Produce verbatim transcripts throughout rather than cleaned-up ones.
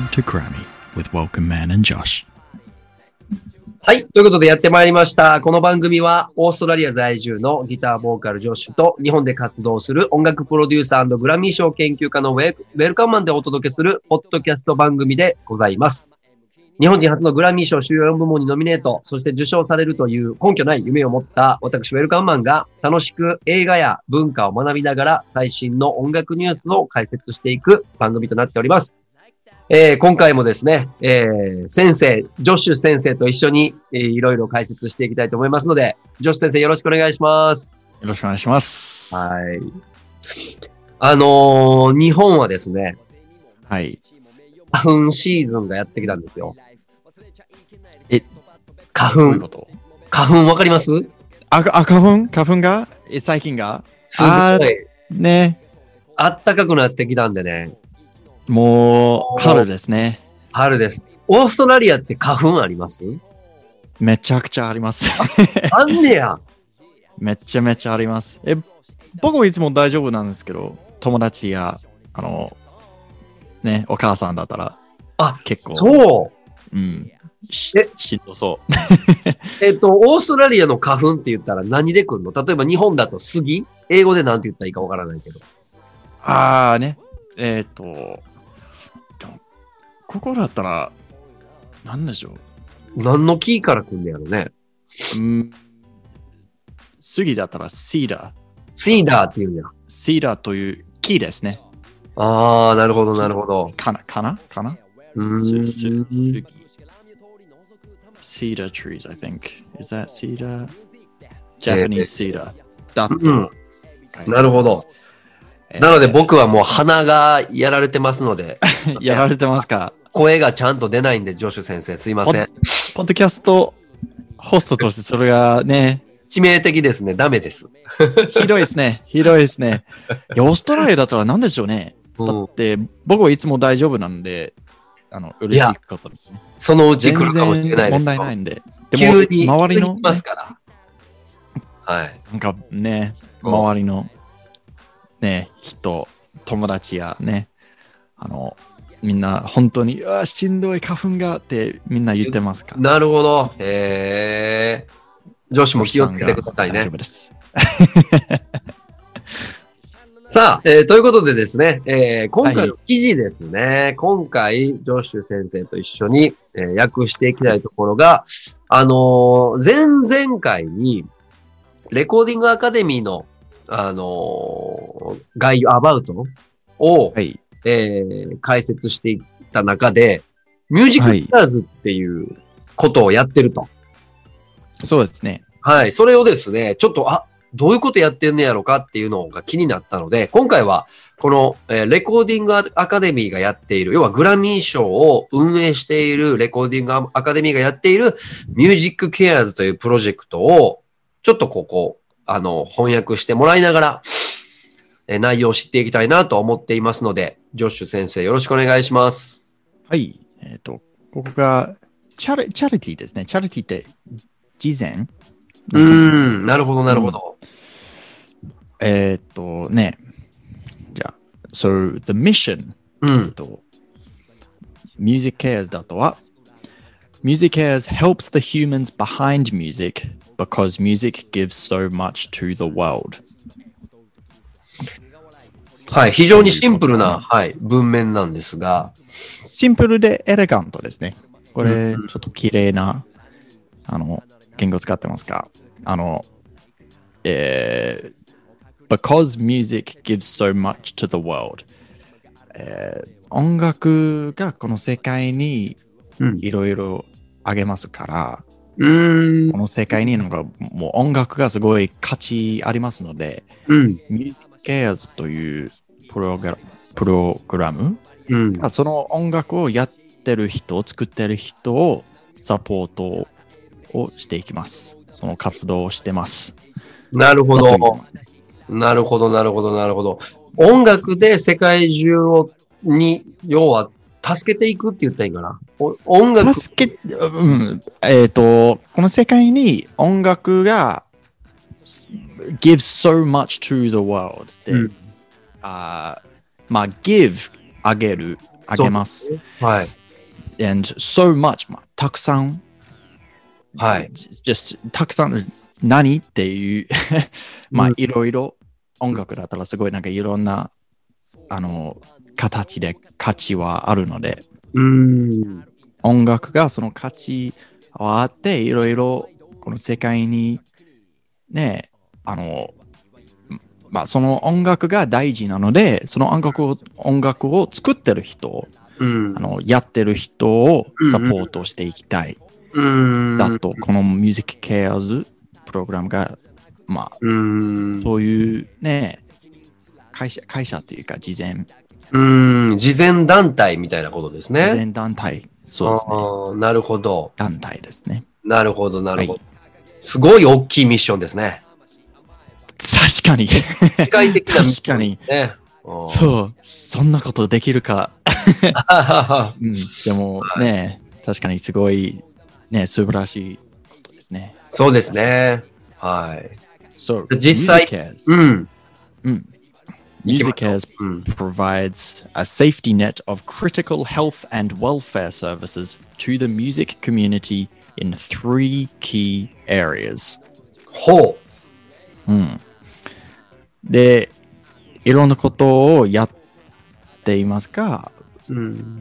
to Grammy with Welcome Man and Josh. はい。ということでやってまいりました。この番組はオーストラリア在住のギターボーカルジョッシュと日本で活動する音楽プロデューサー&グラミー賞研究家のウェルカムマンでお届けするポッドキャスト番組でございます。日本人初のグラミー賞主要よん部門にノミネート、そして受賞されるという根拠ない夢を持った私ウェルカムマンが楽しく映画や文化を学びながら最新の音楽ニュースを解説していく番組となっております。えー、今回もですね、えー、先生、ジョッシュ先生と一緒に、えー、いろいろ解説していきたいと思いますので、ジョッシュ先生よろしくお願いします。 よろしくお願いします。 はい。あのー、日本はですね、 はい。 花粉シーズンがやってきたんですよ。 え、 花粉。 どういうこと？ 花粉わかります？ あ、あ、花粉花粉がえ、最近がすごい。 ね。 あったかくなってきたんでね。 もう、春ですね。 春です。オーストラリアって花粉あります？ めちゃくちゃあります。 あんねや。 めちゃめちゃあります。え、僕はいつも大丈夫なんですけど、友達や、あの、ね、お母さんだったら、 あ、 結構。 そう。 うん。しえ、 しんどそう。 えっと、オーストラリアの花粉って言ったら何で来るの？例えば日本だと杉？英語で何て言ったらいいかわからないけど。 あーね。えっと、ここだったら、なんでしょう。何の木から来んねやろね。 うん。杉だったらシーダー。 シーダーって言うんや。 シーダーという木ですね。 あー、なるほど、なるほど。 かなかなかなうーん。 Cedar trees, I think. Is that cedar? Japanese cedar. だと、 うん。なるほど。なので僕はもう鼻がやられてますので。 やられてますか？ 声がちゃんと出ないんで、ジョシュ先生、すいません。 ポッドキャストホストとしてそれがね、 致命的ですね。ダメです。 ひどいですね。ひどいですね。いや、オーストラリアだったら何でしょうね。だって、僕はいつも大丈夫なんで、あの、嬉しいことですね。 そのうち来るかもしれないです。 問題ないんで。 でも、急に、 周りの、 ね、ますから。はい。 なんかね、周りの、ね、人、友達やね、あの、みんな本当に、うわ、しんどい花粉がってみんな言ってますから。 なるほど。へえ。女子も気をつけてくださいね。 大丈夫です。 さあ、えー、ということでですね、えー、今回の記事ですね、はい、今回、ジョッシュ先生と一緒に、えー、訳していきたいところが、あのー、前々回に、レコーディングアカデミーの、あのー、概要、アバウトを、はい、えー、解説していった中で、ミュージックスターズっていうことをやってると。はい、 そうですね。 はい。それをですね、ちょっと、あ、どういうことやってんねやろかっていうのが気になったので、今回は、この、えー、レコーディングアカデミーがやっている、要はグラミー賞を運営しているレコーディングアカデミーがやっているミュージックケアーズというプロジェクトを、ちょっとここ、あの、翻訳してもらいながら、えー、内容を知っていきたいなと思っていますので、ジョッシュ先生よろしくお願いします。 はい。えっと、ここが、チャリ、チャリティーですね。チャリティーって、慈善？ うーん、なるほど、なるほど。 うん、えー、っとね、じゃあ、so the mission、 うん、 えっと、Music Cares だとは、Music Cares helps the humans behind music because music gives so much to the world。 はい、非常にシンプルな、はい、文面なんですが、 シンプルでエレガントですね。これ、ちょっと綺麗な、あの、言語使ってますか？あの、えー、because music gives so much to the world、えー、音楽がこの世界にいろいろあげますから、 うん、 この世界になんかもう音楽がすごい価値ありますので、 うん、 Music Cares というプログラ、プログラム、 うん、 その音楽をやってる人、作ってる人をサポートをしていきます。その活動をしてます。 なるほど。なるほど、なるほど、なるほど。音楽で世界中を、に、要は、助けていくって言ったらいいかな。音楽。 助け、うん。えっ、ー、と、この世界に音楽が give so much to the world って、うん、あまあ、give、あげる、あげます。 はい。 and so much、まあ、たくさん、 はい。 just たくさん、何っていう、まあ、いろいろ音楽だったらすごいなんかいろんな、あの、形で価値はあるので、 うん。 音楽がその価値はあって、いろいろこの世界にね、あの、まあ、その音楽が大事なので、その音楽を音楽を作ってる人、 うん、 あのやってる人をサポートしていきたい。 うん、 だと、この Music Cares プログラムが、まあ、 うん、 そういうね、会社、会社というか、慈善。 うん、慈善団体みたいなことですね。 慈善団体。そうですね。 ああ、なるほど。 団体ですね。 なるほど、なるほど。 はい、 すごい大きいミッションですね。 確かに。 世界的なミッション確かに。 ね。 そう、そんなことできるか。うん、でもね、確かにすごい、ね、素晴らしいことですね。 そうですね。はい。 そう、 実際、うん。 うん。MusiCares provides a safety net of critical health and welfare services to the music community in three key areas. ほう。うん。で、いろんなことをやっていますが、うん、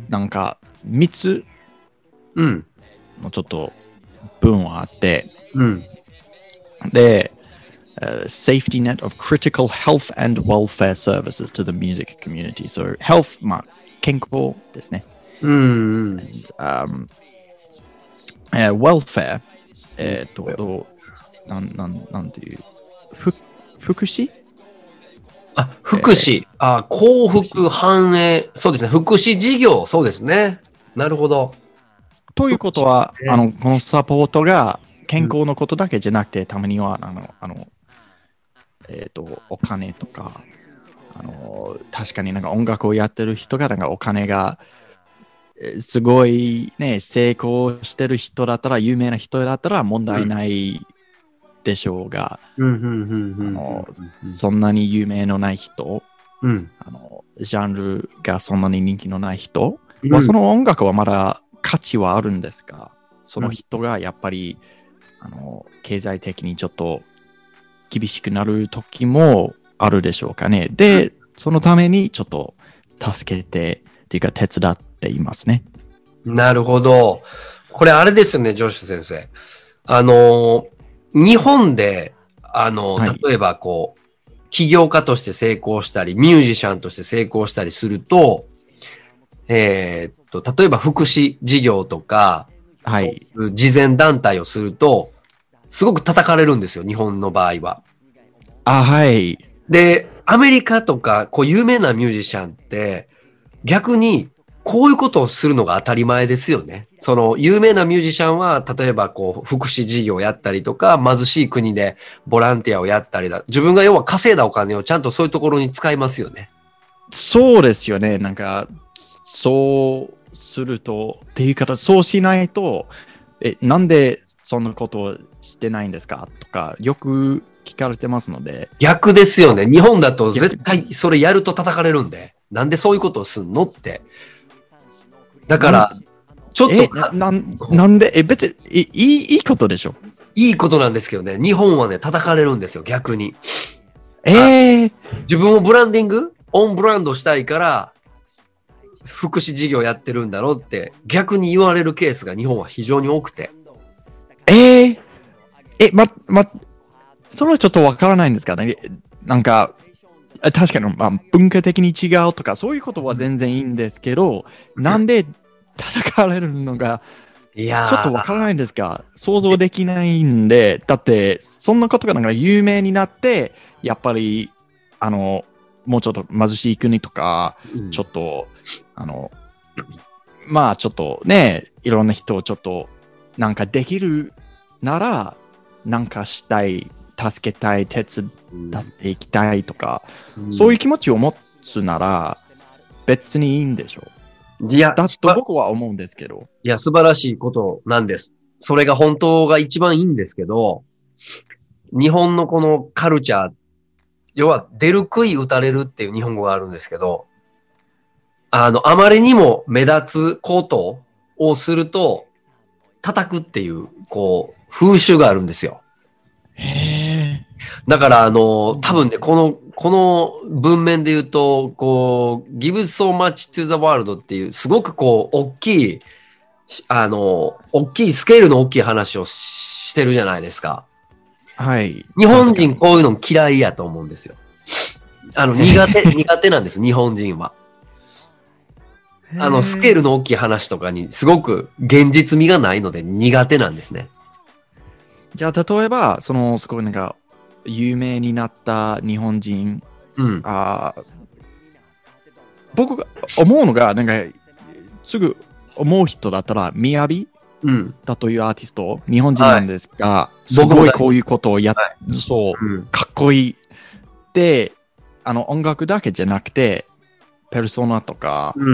なんかみっつのちょっと文はあって、うん、で、uh, safety net of critical health and welfare services to the music community. So health, まあ、健康ですね。うん、and, um, uh, welfare、えっと、なん、なん、なんていう、ふ福祉あ、福祉。えー、あ、幸福繁栄。そうですね。福祉事業。そうですね。なるほど。 ということは、あの、このサポートが健康のことだけじゃなくて、うん、たまには、あの、あの、えっと、お金とか、あの、確かになんか音楽をやってる人が、なんかお金が、すごいね、成功してる人だったら、有名な人だったら問題ないでしょうが、そんなに有名のない人、うん、あのジャンルがそんなに人気のない人は、うん、その音楽はまだ価値はあるんですが、その人がやっぱり、うん、あの経済的にちょっと厳しくなる時もあるでしょうかね。で、そのためにちょっと助けてというか手伝っていますね。 なるほど。これあれですよね、ジョシュ先生。あの日本で、あの、はい、例えばこう、起業家として成功したり、ミュージシャンとして成功したりすると、えー、っと、例えば福祉事業とか、はい、そういう慈善団体をすると、すごく叩かれるんですよ、日本の場合は。 あ、はい。 で、アメリカとか、こう、有名なミュージシャンって、逆に、こういうことをするのが当たり前ですよね。その、有名なミュージシャンは、例えば、こう、福祉事業をやったりとか、貧しい国でボランティアをやったりだ。自分が要は稼いだお金をちゃんとそういうところに使いますよね。 そうですよね。なんか、そうすると、っていう方、そうしないと、え、なんでそんなことをしてないんですかとか、よく聞かれてますので。 逆ですよね。日本だと絶対それやると叩かれるんで、なんでそういうことをすんのって。だから、ちょっと。 え、な、なんで、え、別にいい、いいことでしょ。 いいことなんですけどね、日本はね、叩かれるんですよ、逆に。 えー、 自分をブランディングオンブランドしたいから、福祉事業やってるんだろうって逆に言われるケースが日本は非常に多くて。 えー、え、ま、ま、それはちょっとわからないんですかね。なんか、確かに、まあ、文化的に違うとか、そういうことは全然いいんですけど、なんで叩かれるのが、ちょっとわからないんですか。想像できないんで、だって、そんなことがなんか有名になって、やっぱり、あの、もうちょっと貧しい国とか、うん、ちょっと、あの、まあちょっとね、いろんな人をちょっとなんかできるなら、なんかしたい、助けたい、手伝っていきたいとか、うん、そういう気持ちを持つなら別にいいんでしょう。いや、だと僕は思うんですけど。 いや、素晴らしいことなんです。それが本当が一番いいんですけど、日本のこのカルチャー、要は出る杭打たれるっていう日本語があるんですけど、あの、あまりにも目立つことをすると、叩くっていう、こう、風習があるんですよ。 へだから、あの、多分ね、この、この文面で言うと、こう、give so much to the world っていう、すごくこう、大きい、あの、大きい、スケールの大きい話をしてるじゃないですか。 はい。 日本人こういうの嫌いやと思うんですよ。あの、苦手、苦手なんです、日本人は。あの、スケールの大きい話とかにすごく現実味がないので苦手なんですね。 じゃあ、例えば、その、すごいなんか、有名になった日本人、 うん。 あ僕が思うのが、なんか、すぐ思う人だったら、みやびうん。 だというアーティスト、日本人なんですが、はい、す僕も大好きごいこういうことをやっ、 はい、 そう、 うん、 かっこいい。で、あの、音楽だけじゃなくて、ペルソナとか、 うん、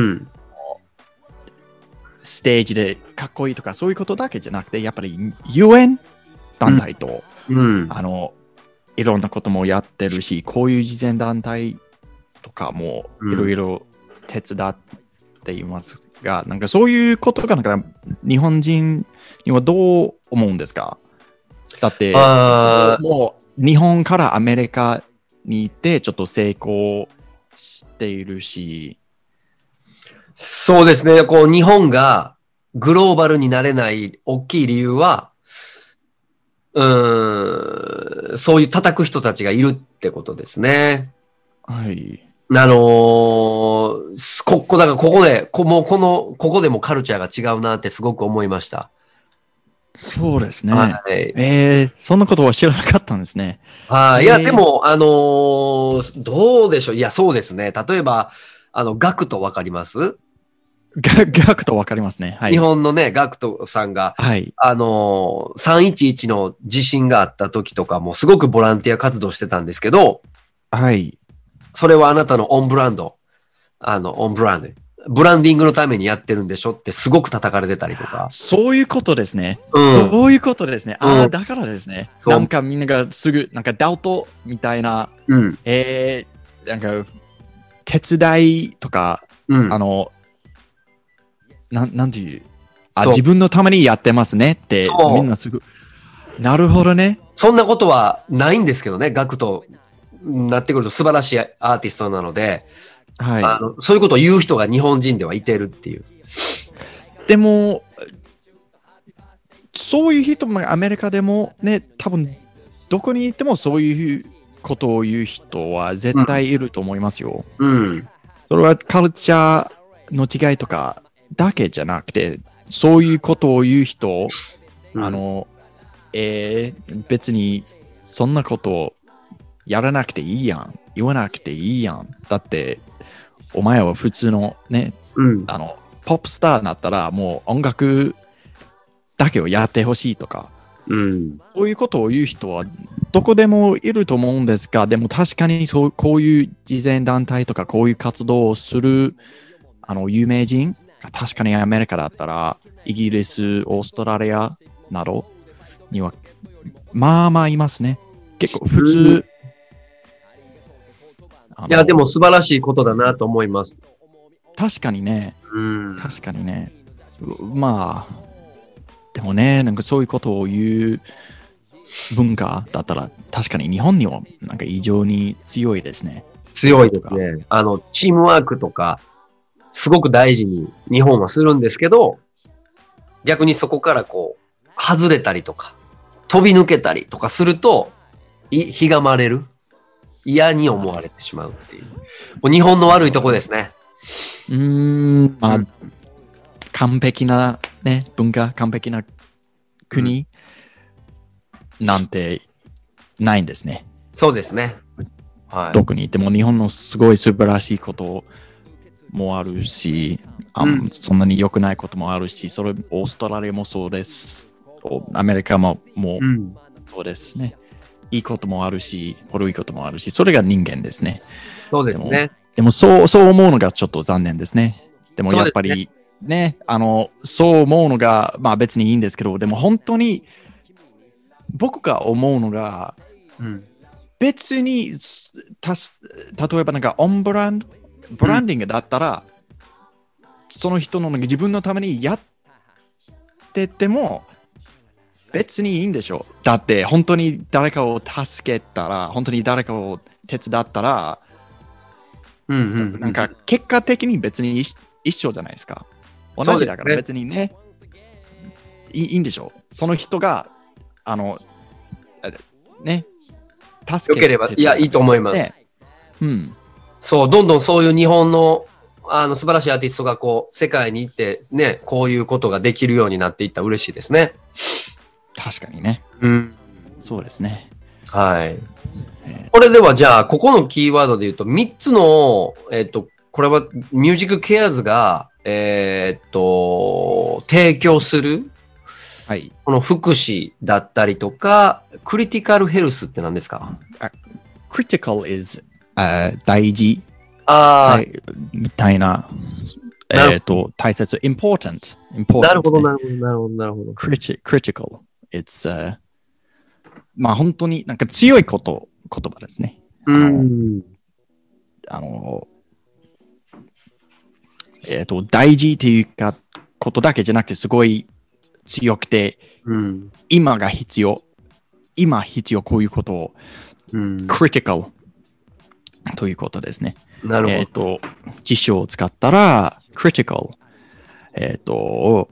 ステージでかっこいいとか、そういうことだけじゃなくて、やっぱり、ユーエヌ団体と、 うん、 あの、いろんなこともやってるし、こういう慈善団体とかもいろいろ手伝っていますが、うん、なんかそういうことがなんか日本人にはどう思うんですか？だって、もう日本からアメリカに行ってちょっと成功しているし。 そうですね。こう、日本がグローバルになれない大きい理由は、うーん、そういう叩く人たちがいるってことですね。 はい。 あのー、ここ、だからここで、こもうこの、ここでもカルチャーが違うなってすごく思いました。 そうですね。 はい、 えー、そんなことは知らなかったんですね。 はい、いや、でも、あのー、どうでしょう。いや、そうですね。例えば、あの、ガクトわかります？ ガガクトわかりますね。はい。 日本のね、ガクトさんが、 はい、 あのー、さんいちいちの地震があった時とかもすごくボランティア活動してたんですけど、 はい。 それはあなたのオンブランド、あの、オンブランド。ブランディングのためにやってるんでしょってすごく叩かれてたりとか。 そういうことですね。 うん、 そういうことですね。ああ、 うん、 だからですね。なんかみんながすぐ、なんかダウトみたいな、 うん、 えー、なんか手伝いとか、 うん、 あの、なん、なんていう、あ、自分のためにやってますねって、みんなすぐ、なるほどね。 そんなことはないんですけどね、ガクトなってくると素晴らしいアーティストなので、はい、あのそういうことを言う人が日本人ではいてるっていう。 でも、そういう人もアメリカでもね、多分どこに行ってもそういうことを言う人は絶対いると思いますよ。 うん。うん、 それはカルチャーの違いとかだけじゃなくて、そういうことを言う人、うん、あの、えー、別にそんなことをやらなくていいやん。言わなくていいやん。だって、お前は普通のね、うん、あの、ポップスターになったらもう音楽だけをやってほしいとか、うん、そういうことを言う人はどこでもいると思うんですが、でも確かにそうこういう慈善団体とかこういう活動をするあの有名人が確かにアメリカだったらイギリス、オーストラリアなどにはまあまあいますね。結構普通。うんいや、でも素晴らしいことだなと思います。 確かにね。うん、確かにね。まあ、でもね、なんかそういうことを言う文化だったら、確かに日本にはなんか異常に強いですね。 強いですね。あの、チームワークとか、すごく大事に日本はするんですけど、逆にそこからこう、外れたりとか、飛び抜けたりとかすると、い、ひがまれる。嫌に思われてしまうっていう。もう日本の悪いとこですね。 うーん、まあ、うん、完璧なね、文化、完璧な国、うん、なんてないんですね。 そうですね。はい。 どこにいても日本のすごい素晴らしいこともあるし、あ、うん、そんなに良くないこともあるし、それオーストラリアもそうです。アメリカももうそうですね。いいこともあるし、悪いこともあるし、それが人間ですね。 そうですね。 でも、でもそう、そう思うのがちょっと残念ですね。でもやっぱりね、ねあの、そう思うのが、まあ別にいいんですけど、でも本当に僕が思うのが、うん、別にたし、例えばなんかオンブランド、ブランディングだったら、うん、その人の自分のためにやっってても別にいいんでしょう。だって本当に誰かを助けたら、本当に誰かを手伝ったら、 うんうんうん、 なんか結果的に別に一一緒じゃないですか。同じだから別にね、いいいいんでしょう。その人が、あの、ね、助けてよければ、いや、いいと思います。 ね、うん。 そう、どんどんそういう日本のあの素晴らしいアーティストがこう世界に行ってね、こういうことができるようになっていったら嬉しいですね。 確かにね。 うん。 そうですね。 はい。これではじゃあ、ここのキーワードで言うと、みっつの、えっと、これはミュージックケアーズが、えーっと、提供する、 はい。 この福祉だったりとか、クリティカルヘルスって何ですか？ あ critical is、uh, 大事。 ああ、 みたいな。えっと、大切。important。important、 なるほど、なるほど、なるほど、なるほど。 Criti- critical。It's、uh, まあ本当になんか強いこと、言葉ですね。あの、 うん。 あのえっ、と、大事っていうか、ことだけじゃなくて、すごい強くて、 うん、 今が必要。今必要、こういうことを、 うん、 critical ということですね。 なるほど。 えっ、と、辞書を使ったら、critical。えっ、と、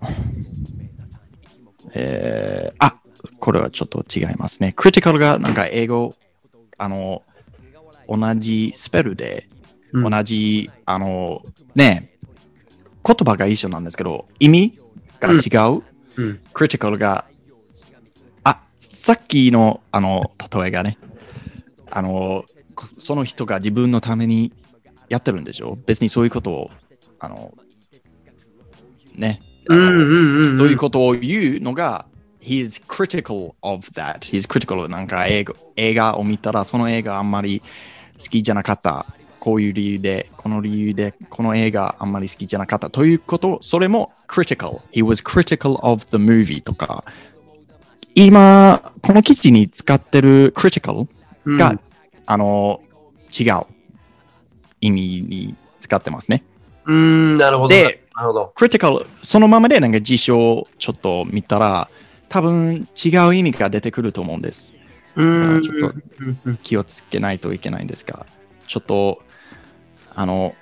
えー、あ、これはちょっと違いますね。critical がなんか英語、あの、同じスペルで、 うん、 同じ、あの、ね、言葉が一緒なんですけど、意味が違う。 うん、 critical が、あ、さっきの、あの、例えがね、あの、その人が自分のためにやってるんでしょ？別にそういうことを、あの、ね、あのうんうんうん、 そういうことを言うのが、he is critical of that. He is critical. なんか映画、映画を見たら、その映画あんまり好きじゃなかった。こういう理由で、この理由で、この映画あんまり好きじゃなかったということ、それも critical. He was critical of the movie とか、今、この記事に使ってる critical が、うん、あの、違う意味に使ってますね。 うーん、なるほど。 で、 なるほど。 critical、そのままでなんか辞書をちょっと見たら、多分違う意味が出てくると思うんです。 うーん。 ちょっと気をつけないといけないんですが、ちょっと、あの、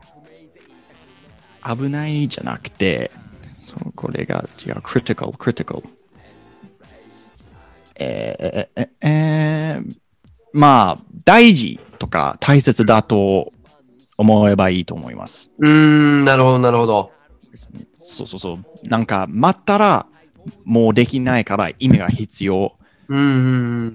危ないじゃなくて、これが違う、critical、critical。えー、えー、えー、まあ、大事とか大切だと思えばいいと思います。 うーん、なるほど、なるほど。 そうそうそう。なんか、待ったら、もうできないから意味が必要。 うん、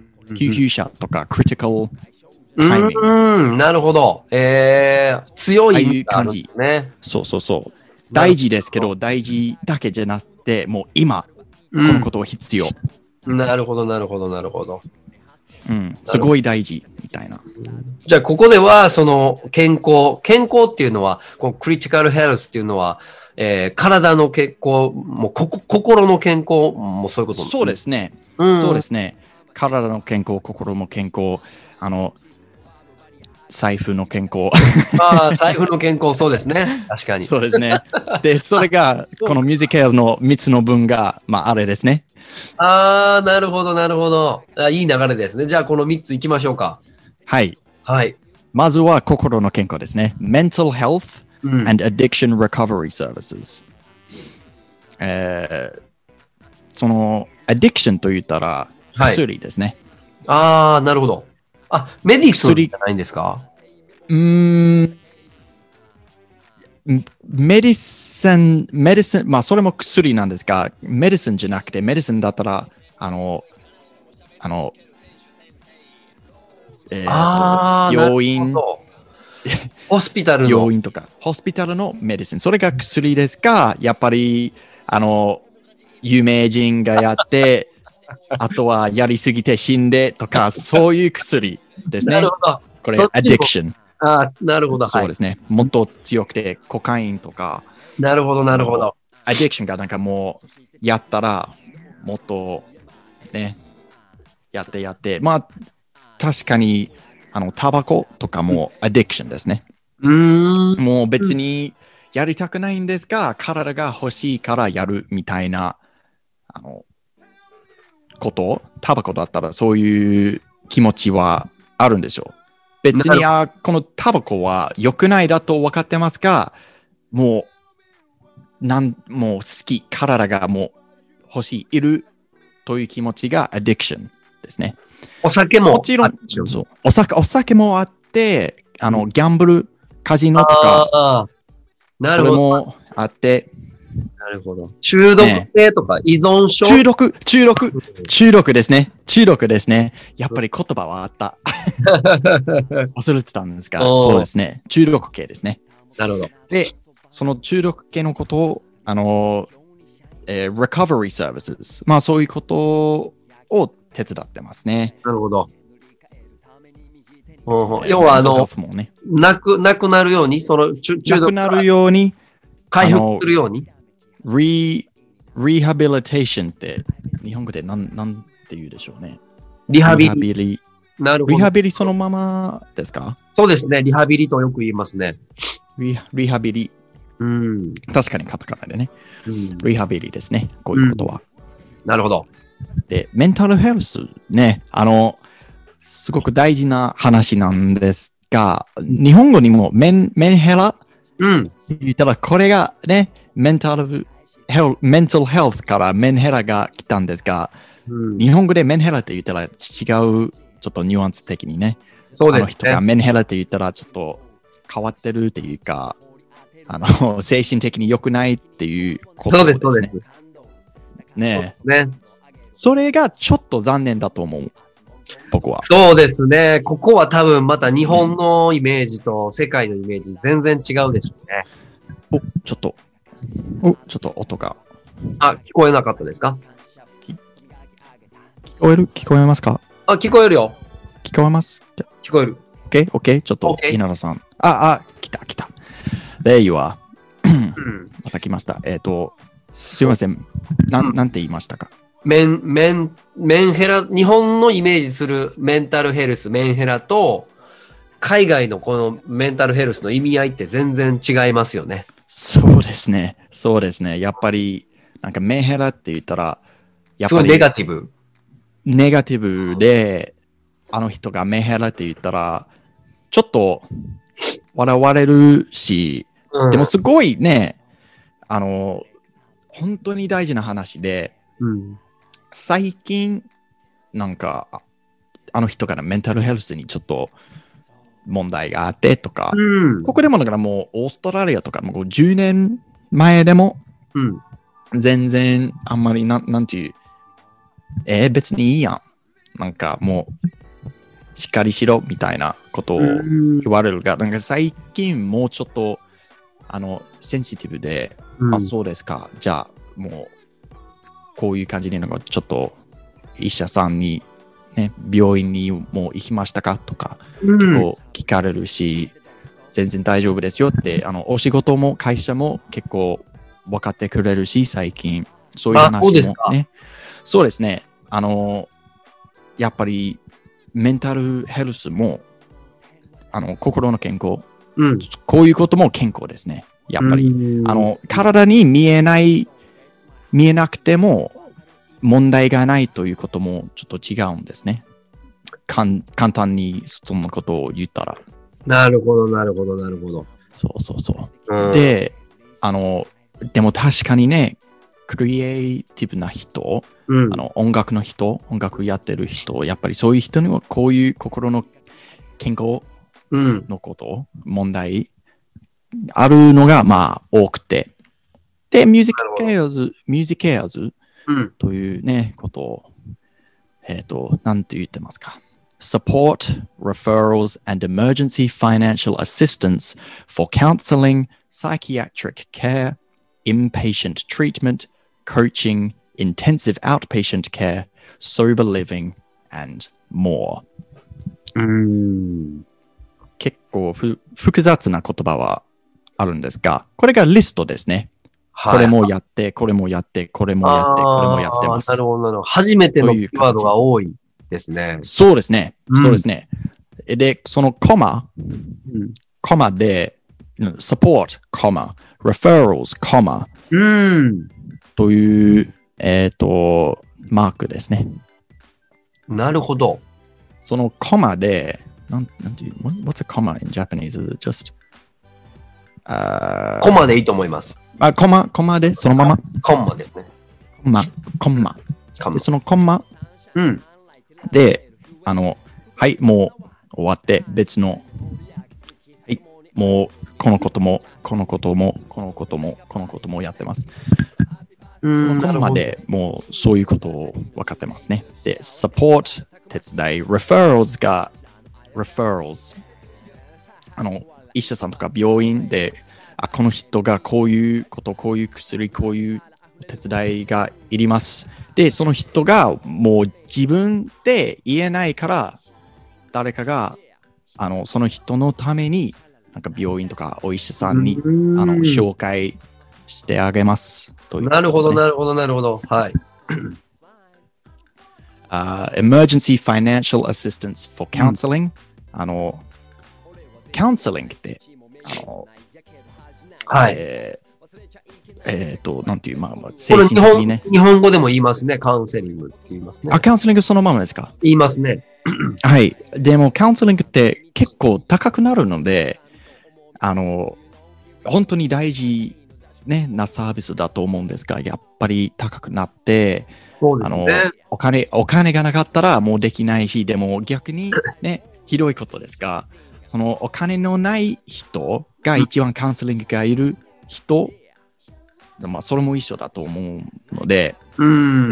救急車とか、クリティカルタイミング。うん、なるほど。えー、強い意味があるんですね。 そうそうそう。大事ですけど、大事だけじゃなくて、もう今、このことを必要。 うん、なるほど、なるほど、なるほど。 うん、すごい大事みたいな。 じゃあ、ここでは、その、健康、健康っていうのは、このクリティカルヘルスっていうのは、えー、体の健康、もうここ心の健康もそういうことそうですね。 うん、 そうですね。体の健康、心の健康、あの、財布の健康。 ああ、財布の健康、そうですね。確かに。 そうですね。で、それが、このミュージックケアのみっつの文が、まあ、あれですね。 ああ、なるほど、なるほどあ。いい流れですね。じゃあ、このみっついきましょうか。 はい。 はい。 まずは心の健康ですね。Mental Health and Addiction Recovery Services。えー、その、Addiction と言ったら、薬ですね。 はい、ああ、なるほど。あ、メディスンじゃないんですか？ うーん。メディセン、メディセン、まあそれも薬なんですが、メディセンじゃなくて、メディセンだったら、あの、あの、えー、と病院、 ホスピタルの病院とか、ホスピタルのメディセン、それが薬ですか、やっぱり、あの、有名人がやって、あとはやりすぎて死んでとか、そういう薬ですね。 なるほど。 これ、addiction。 ああ、なるほど。 そうですね。もっと強くて、コカインとか。 なるほど、なるほど。 アディクションがなんかもう、やったら、もっと、ね、やってやって。まあ、確かに、あの、タバコとかもアディクションですね。 うーん。 もう別にやりたくないんですが、体が欲しいからやるみたいなあの、こと、タバコだったらそういう気持ちはあるんでしょう。別に、あ、このタバコは良くないだと分かってますが、もう、なん、もう好き、体がもう欲しい、いるという気持ちがアディクションですね。 お酒も。 もちろん、そうお酒、お酒もあって、あの、ギャンブル、カジノとか、 あなるほど。 これもあって、 なるほど。中毒性とか依存症、 ね、中毒、中毒、中毒ですね。中毒ですね。やっぱり言葉はあった。忘れてたんですが、そうですね。中毒系ですね。 なるほど。 で、その中毒系のことを、あの、えー、recovery services、まあそういうことを手伝ってますね。 なるほど。要は、あの、ね、なく、なくなるように、その中毒なくなるように、 回復するように。 リ、リハビリテーションって日本語で何、なんて言うでしょうね。 リハビリ。リハビリなるほど。 リハビリそのままですか？ そうですね。リハビリとよく言いますね。 リ, リハビリ。 うん。 確かにカタカナでね、うん。リハビリですね。こういうことは。 うん、なるほど。 で、メンタルヘルスね。あの、すごく大事な話なんですが、日本語にもメン、メンヘラうん。 言ったら、これがね、メンタルヘル、メンタルヘルスからメンヘラが来たんですが、うん、日本語でメンヘラって言ったら違う、ちょっとニュアンス的にね。 そうですね。 あの人がメンヘラって言ったらちょっと変わってるっていうか、あの、精神的に良くないっていうことですね。そうです、そうです。ねえ。ね。それがちょっと残念だと思う。僕は。 そうですね。ここは多分また日本のイメージと世界のイメージ全然違うでしょうね。 お、ちょっと、お、ちょっと音が。 あ、聞こえなかったですか？ 聞こえる？聞こえますか？ あ、聞こえるよ。 聞こえます？ 聞こえる。 OK? OK? ちょっと、稲田さん。あ、あ、来た、来た。There you are. また来ました。えっ、ー、と、すいません。なん、なんて言いましたか？ メン、メン、メンヘラ、日本のイメージするメンタルヘルス、メンヘラと、海外のこのメンタルヘルスの意味合いって全然違いますよね。 そうですね。そうですね。やっぱり、なんかメンヘラって言ったら、 やっぱり。すごいネガティブ。 ネガティブで、あの人がメンヘラって言ったら、ちょっと笑われるし、うん、でもすごいね、あの、本当に大事な話で、 うん、 最近、なんか、あの人からメンタルヘルスにちょっと問題があってとか、 うん、 ここでもだからもうオーストラリアとかもうじゅうねんまえでも、 うん、 全然あんまりな、なんていう、えー、別にいいやん。なんかもう、しっかりしろみたいなことを言われるが、なんか最近もうちょっと、あの、センシティブで、うん、あ、そうですか。じゃあ、もう、こういう感じで、なんかちょっと、医者さんに、ね、病院にもう行きましたかとか、 うん、 結構聞かれるし、全然大丈夫ですよって、あの、お仕事も会社も結構分かってくれるし、最近、そういう話もね。そうですね。あの、やっぱり、メンタルヘルスも、あの、心の健康、 うん、 こういうことも健康ですね。やっぱり、あの、体に見えない、見えなくても問題がないということもちょっと違うんですね。かん簡単にそのことを言ったら。 なるほど、なるほど、なるほど。 そうそうそう。 うん、 で、あの、でも確かにね、クリエイティブな人、 うん、 あの音楽の人、音楽やってる人、やっぱりそういう人にはこういう心の健康のこと、うん、問題あるのがまあ多くて。で、ミュージックケアーズ、ミュージックケアーズというね、ことを、えっと、なんて言ってますか。Support, referrals, and emergency financial assistance for counseling, psychiatric care, inpatient treatment, coaching, intensive outpatient care, sober living, and more. うーん結構ふ複雑な言葉はあるんですが、これがリストですね。はい、これもやって、これもやって、これもやって、これもやってます。 なるほど、なるほど。初めてのキーワードが多いですね。 そうですね。うん、そうですね。で、そのコマ、 うん、 コマで、support, コマ、referrals, コマ、 うん、 というえっ、と、マークですね。 なるほど。 そのコマで、なんなんていう、what's a comma in Japanese? Is it just あコマでいいと思います。 あ、コマ、コマでそのままコンマですね。 コマ、コンマ。 コンマで、そのコンマうん。 で、あの、はい、もう終わって別の、はい、もうこのことも、このことも、このことも、このこともやってます。 うこのん。 コンマでもうそういうことを分かってますね。で、support、手伝い、referrals が、referrals。あの、医者さんとか病院で、あ、この人がこういうこと、こういう薬、こういう手伝いがいります。で、その人がもう自分で言えないから、誰かがあのその人のために、なんか病院とかお医者さんにあの紹介してあげますという、 なるほど、なるほど、なるほど。はい。 uh, Emergency Financial Assistance for Counseling、うん、あの、Counseling って、あの、 はい。 えーえっ、ー、と、なんていう、まあ、まあ、 精神的にね。日本語でも言いますね。カウンセリングって言いますね。 あ、カウンセリングそのままですか？ 言いますね。 はい。でも、カウンセリングって結構高くなるので、あの、本当に大事、ね、なサービスだと思うんですが、やっぱり高くなって、 そうですね、 あのお金、お金がなかったらもうできないし、でも逆にね、ひどいことですが、そのお金のない人が一番カウンセリングがいる人、まあ、それも一緒だと思うので、 うん、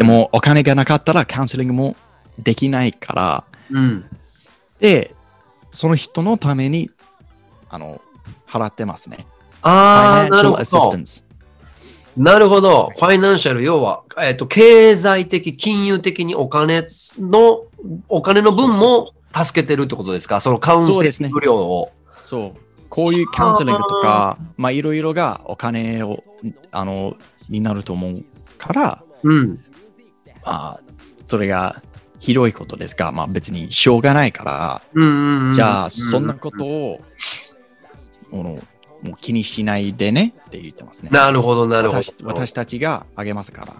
でもお金がなかったらカウンセリングもできないから、 うん、 で、その人のためにあの払ってますね。 ああ、なるほど。なるほど。ファイナンシャル、要は、えっと、経済的、金融的にお金の、お金の分も助けてるってことですか？そのカウンセリング料を。 そうですね。そう。こういうカウンセリングとか、まあいろいろがお金を、あの、になると思うから、 うん。 まあ、それがひどいことですが、まあ別にしょうがないから、 うんうんうん、 じゃあそんなことを、ものもう気にしないでねって言ってますね。 なるほど、なるほど。 私, 私たちがあげますから。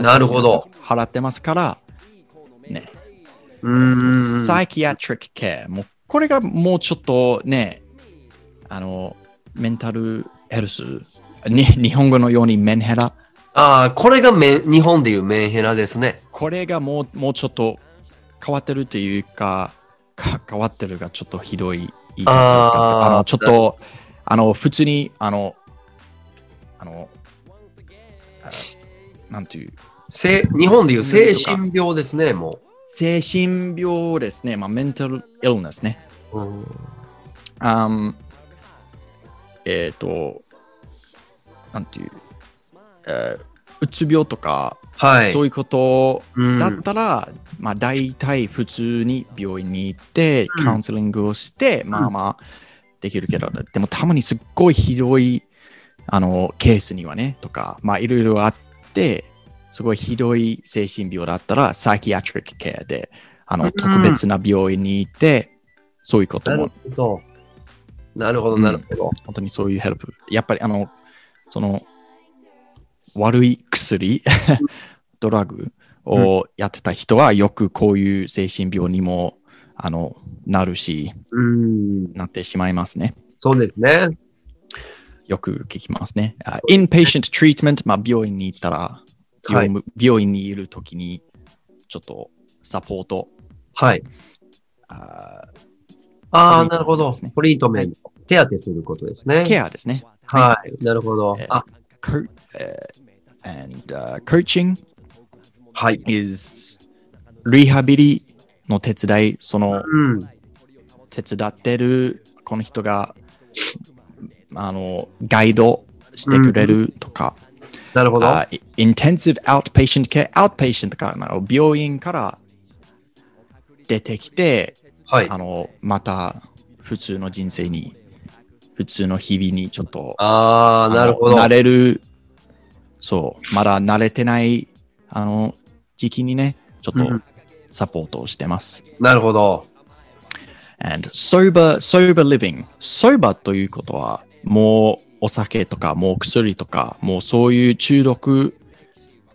なるほど。 払ってますから、ね。 うん。 サイキアトリックケア。もうこれがもうちょっとね、あの、メンタルヘルス、に日本語のようにメンヘラ。 ああ、これがメ日本でいうメンヘラですね。 これがもう、もうちょっと変わってるというか、か変わってるがちょっとひどい言い方ですか。あの、ちょっと、あの、普通に、あの、あの、あなんていう。 日本でいう精神病ですね、もう。 精神病ですね。まあ、メンタルイルネスね。 うん、 um, えっ、ー、と、なんていう、えー、うつ病とか、 はい、 そういうことだったら、うん、まあ大体普通に病院に行って、うん、カウンセリングをして、まあまあできるけど、でもたまにすっごいひどいあのケースにはね、とか、まあいろいろあって、すごいひどい精神病だったら、サイキアトリックケアで、あの、うん、特別な病院に行って、そういうことも。 なるほど、なるほど、うん。 本当にそういうヘルプ。やっぱりあの、その、悪い薬、ドラッグをやってた人はよくこういう精神病にもあのなるし、 うん、 なってしまいますね。 そうですね。 よく聞きますね。Uh, inpatient treatment、まあ、病院に行ったら、はい、病院にいるときにちょっとサポート。 はい。ああ、なるほど。トリートメント。手当てすることですね。 ケアですね。 はい。なるほど。あ、 uh, and、uh, coaching はい is リハビリの手伝い、その、うん、手伝ってるこの人があのガイドしてくれるとか、 うん、なるほど。 uh, intensive outpatient care、outpatient とか病院から出てきて、 はい、 あのまた普通の人生に普通の日々にちょっとああなるほど慣れる。そう、まだ慣れてないあの時期にね、ちょっとサポートをしてます。 うん、なるほど。 And sober, sober living。sober ということは、もうお酒とか、もう薬とか、もうそういう中毒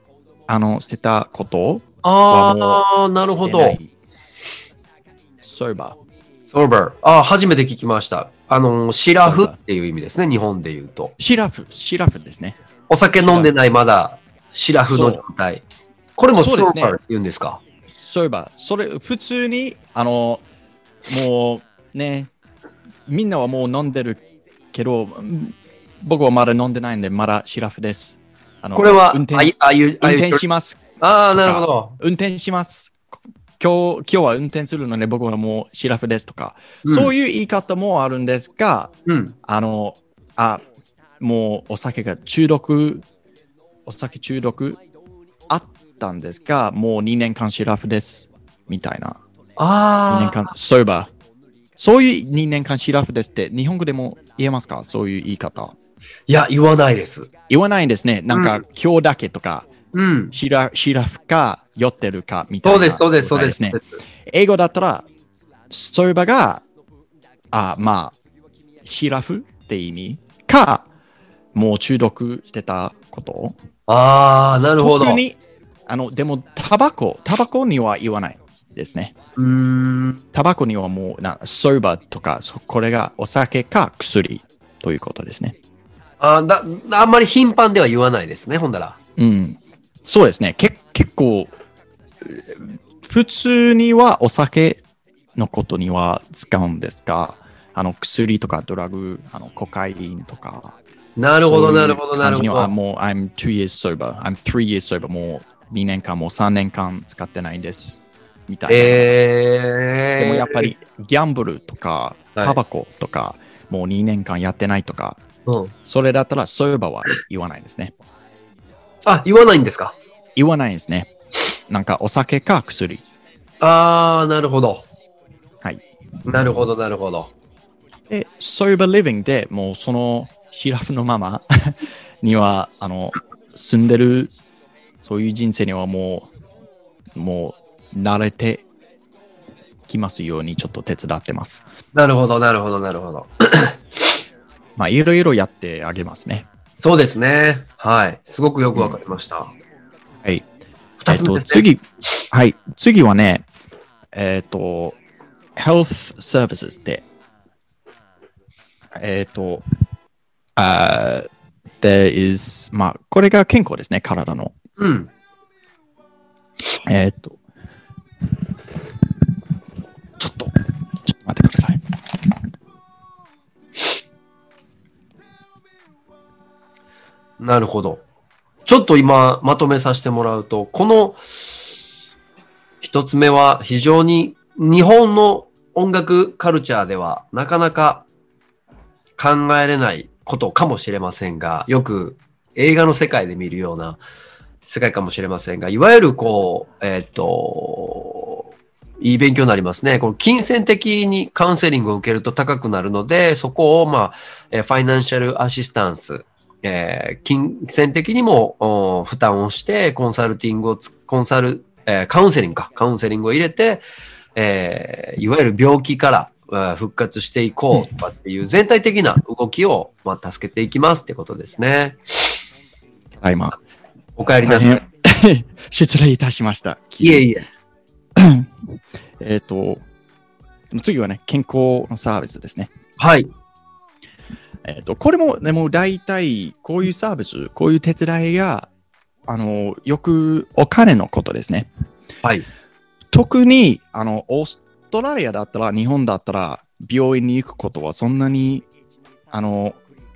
あの、捨てたことああ、なるほど。 ソーバー。 ソーバー。ああ、初めて聞きました。あの、シラフっていう意味ですね、日本で言うと。 シラフ、シラフですね。 お酒飲んでないまだ、シラフの状態。これもソーバーって言うんですか？ ソーバー。それ、普通に、あの、もうね、みんなはもう飲んでるけど、僕はまだ飲んでないんで、まだシラフです。あのこれは、 運転ああいう、 運転します。 ああ、なるほど。 運転します。今日、今日は運転するので、僕はもうシラフですとか、うん、そういう言い方もあるんですが、 うん、 あの、あ、もうお酒が中毒、お酒中毒あったんですが、もうにねんかんシラフです。みたいな。 ああ。 にねんかん、そういえば、そういうにねんかんシラフですって、日本語でも言えますか？そういう言い方。 いや、言わないです。 言わないんですね。なんか、うん、今日だけとか、 うん、 シラシラフか酔ってるかみたいな、 そうです、そうです、そうですね。 英語だったら、そういえばが、あ、まあ、シラフって意味か、もう中毒してたこと。 ああ、なるほど。 特に、あの、でも、タバコ、タバコには言わないですね。 うーん。 タバコにはもう、なソーバーとか、これがお酒か薬ということですね。 あだあんまり頻繁では言わないですね、ほんだら。 うん。そうですね。け結構、普通にはお酒のことには使うんですが、あの薬とかドラッグ、あのコカインとか。 なるほど、なるほど、なるほど。 もう、I'm two years sober, I'm three years sober, もうにねんかん、もうさんねんかん使ってないんです。みたいな。 えー、 でもやっぱりギャンブルとか、タバコとか、はい、もうにねんかんやってないとか、 うん、 それだったらソーバーは言わないですね。 あ、言わないんですか？ 言わないですね。なんかお酒か薬。 あー、なるほど。 はい。 なるほど、なるほど。 で、sober living でもうそのシラフのままには、あの、住んでる、そういう人生にはもう、もう慣れてきますようにちょっと手伝ってます。 なるほど、なるほど、なるほど。 まあ、いろいろやってあげますね。 そうですね。はい。すごくよくわかりました。うん、 はい。 二つ目ですね。 えっと、次、はい。次はね、えっと、health services で、えっと、あ、there is、まあ、これが健康ですね、体の。 うん。 えっと、ちょっと、ちょっと待ってください。 なるほど。ちょっと今まとめさせてもらうと、この一つ目は非常に日本の音楽カルチャーではなかなか考えれないことかもしれませんが、よく映画の世界で見るような世界かもしれませんが、いわゆるこう、えっと、いい勉強になりますね。この金銭的にカウンセリングを受けると高くなるので、そこをまあ、ファイナンシャルアシスタンス、えー、金銭的にも負担をして、コンサルティングをコンサル、えー、カウンセリングか、カウンセリングを入れて、えー、いわゆる病気から復活していこうとかっていう全体的な動きを、まあ、助けていきますってことですね。 はい、まあ。 お帰りなさい。 失礼いたしました。 いえいえ。 えっと、次はね、健康のサービスですね。 はい。 えっと、これも、でも大体、こういうサービス、こういう手伝いが、あの、よくお金のことですね。 はい。 特に、あの、オーストラリアだったら、日本だったら、病院に行くことはそんなに、あの、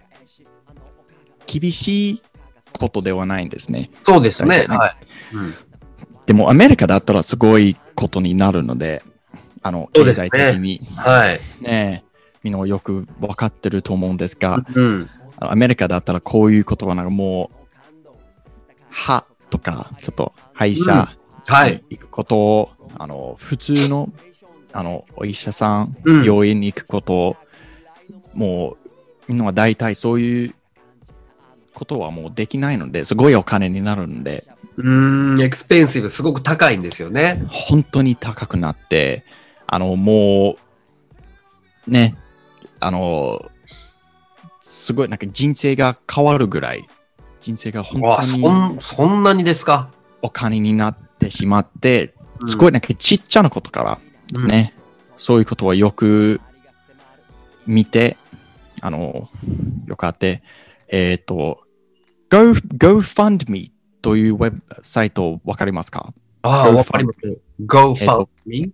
厳しいことではないんですね。 そうですね。 ね、 はい。うん、 でも、アメリカだったらすごいことになるので、あの、経済的に。 ね、はい。 ねえ。みんなよく分かってると思うんですが、 うん、 アメリカだったらこういう言葉なんかもう、歯とか、ちょっと歯医者に行くことを、うんはい、あの普通のあのお医者さん、うん、病院に行くことを、もうみんなは大体そういうことはもうできないので、すごいお金になるので。 うーん、エクスペンシブ、すごく高いんですよね。 本当に高くなって、あのもう、ね、あの、すごいなんか人生が変わるぐらい、人生が本当に。 そん、そんなにですか？ お金になってしまって、すごいなんかちっちゃなことからですね、うん、そういうことはよく見て、あの、よくあって、えっ、ー、と、Go、GoFundMe というウェブサイトわかりますか？ ああ、わかります。GoFundMe？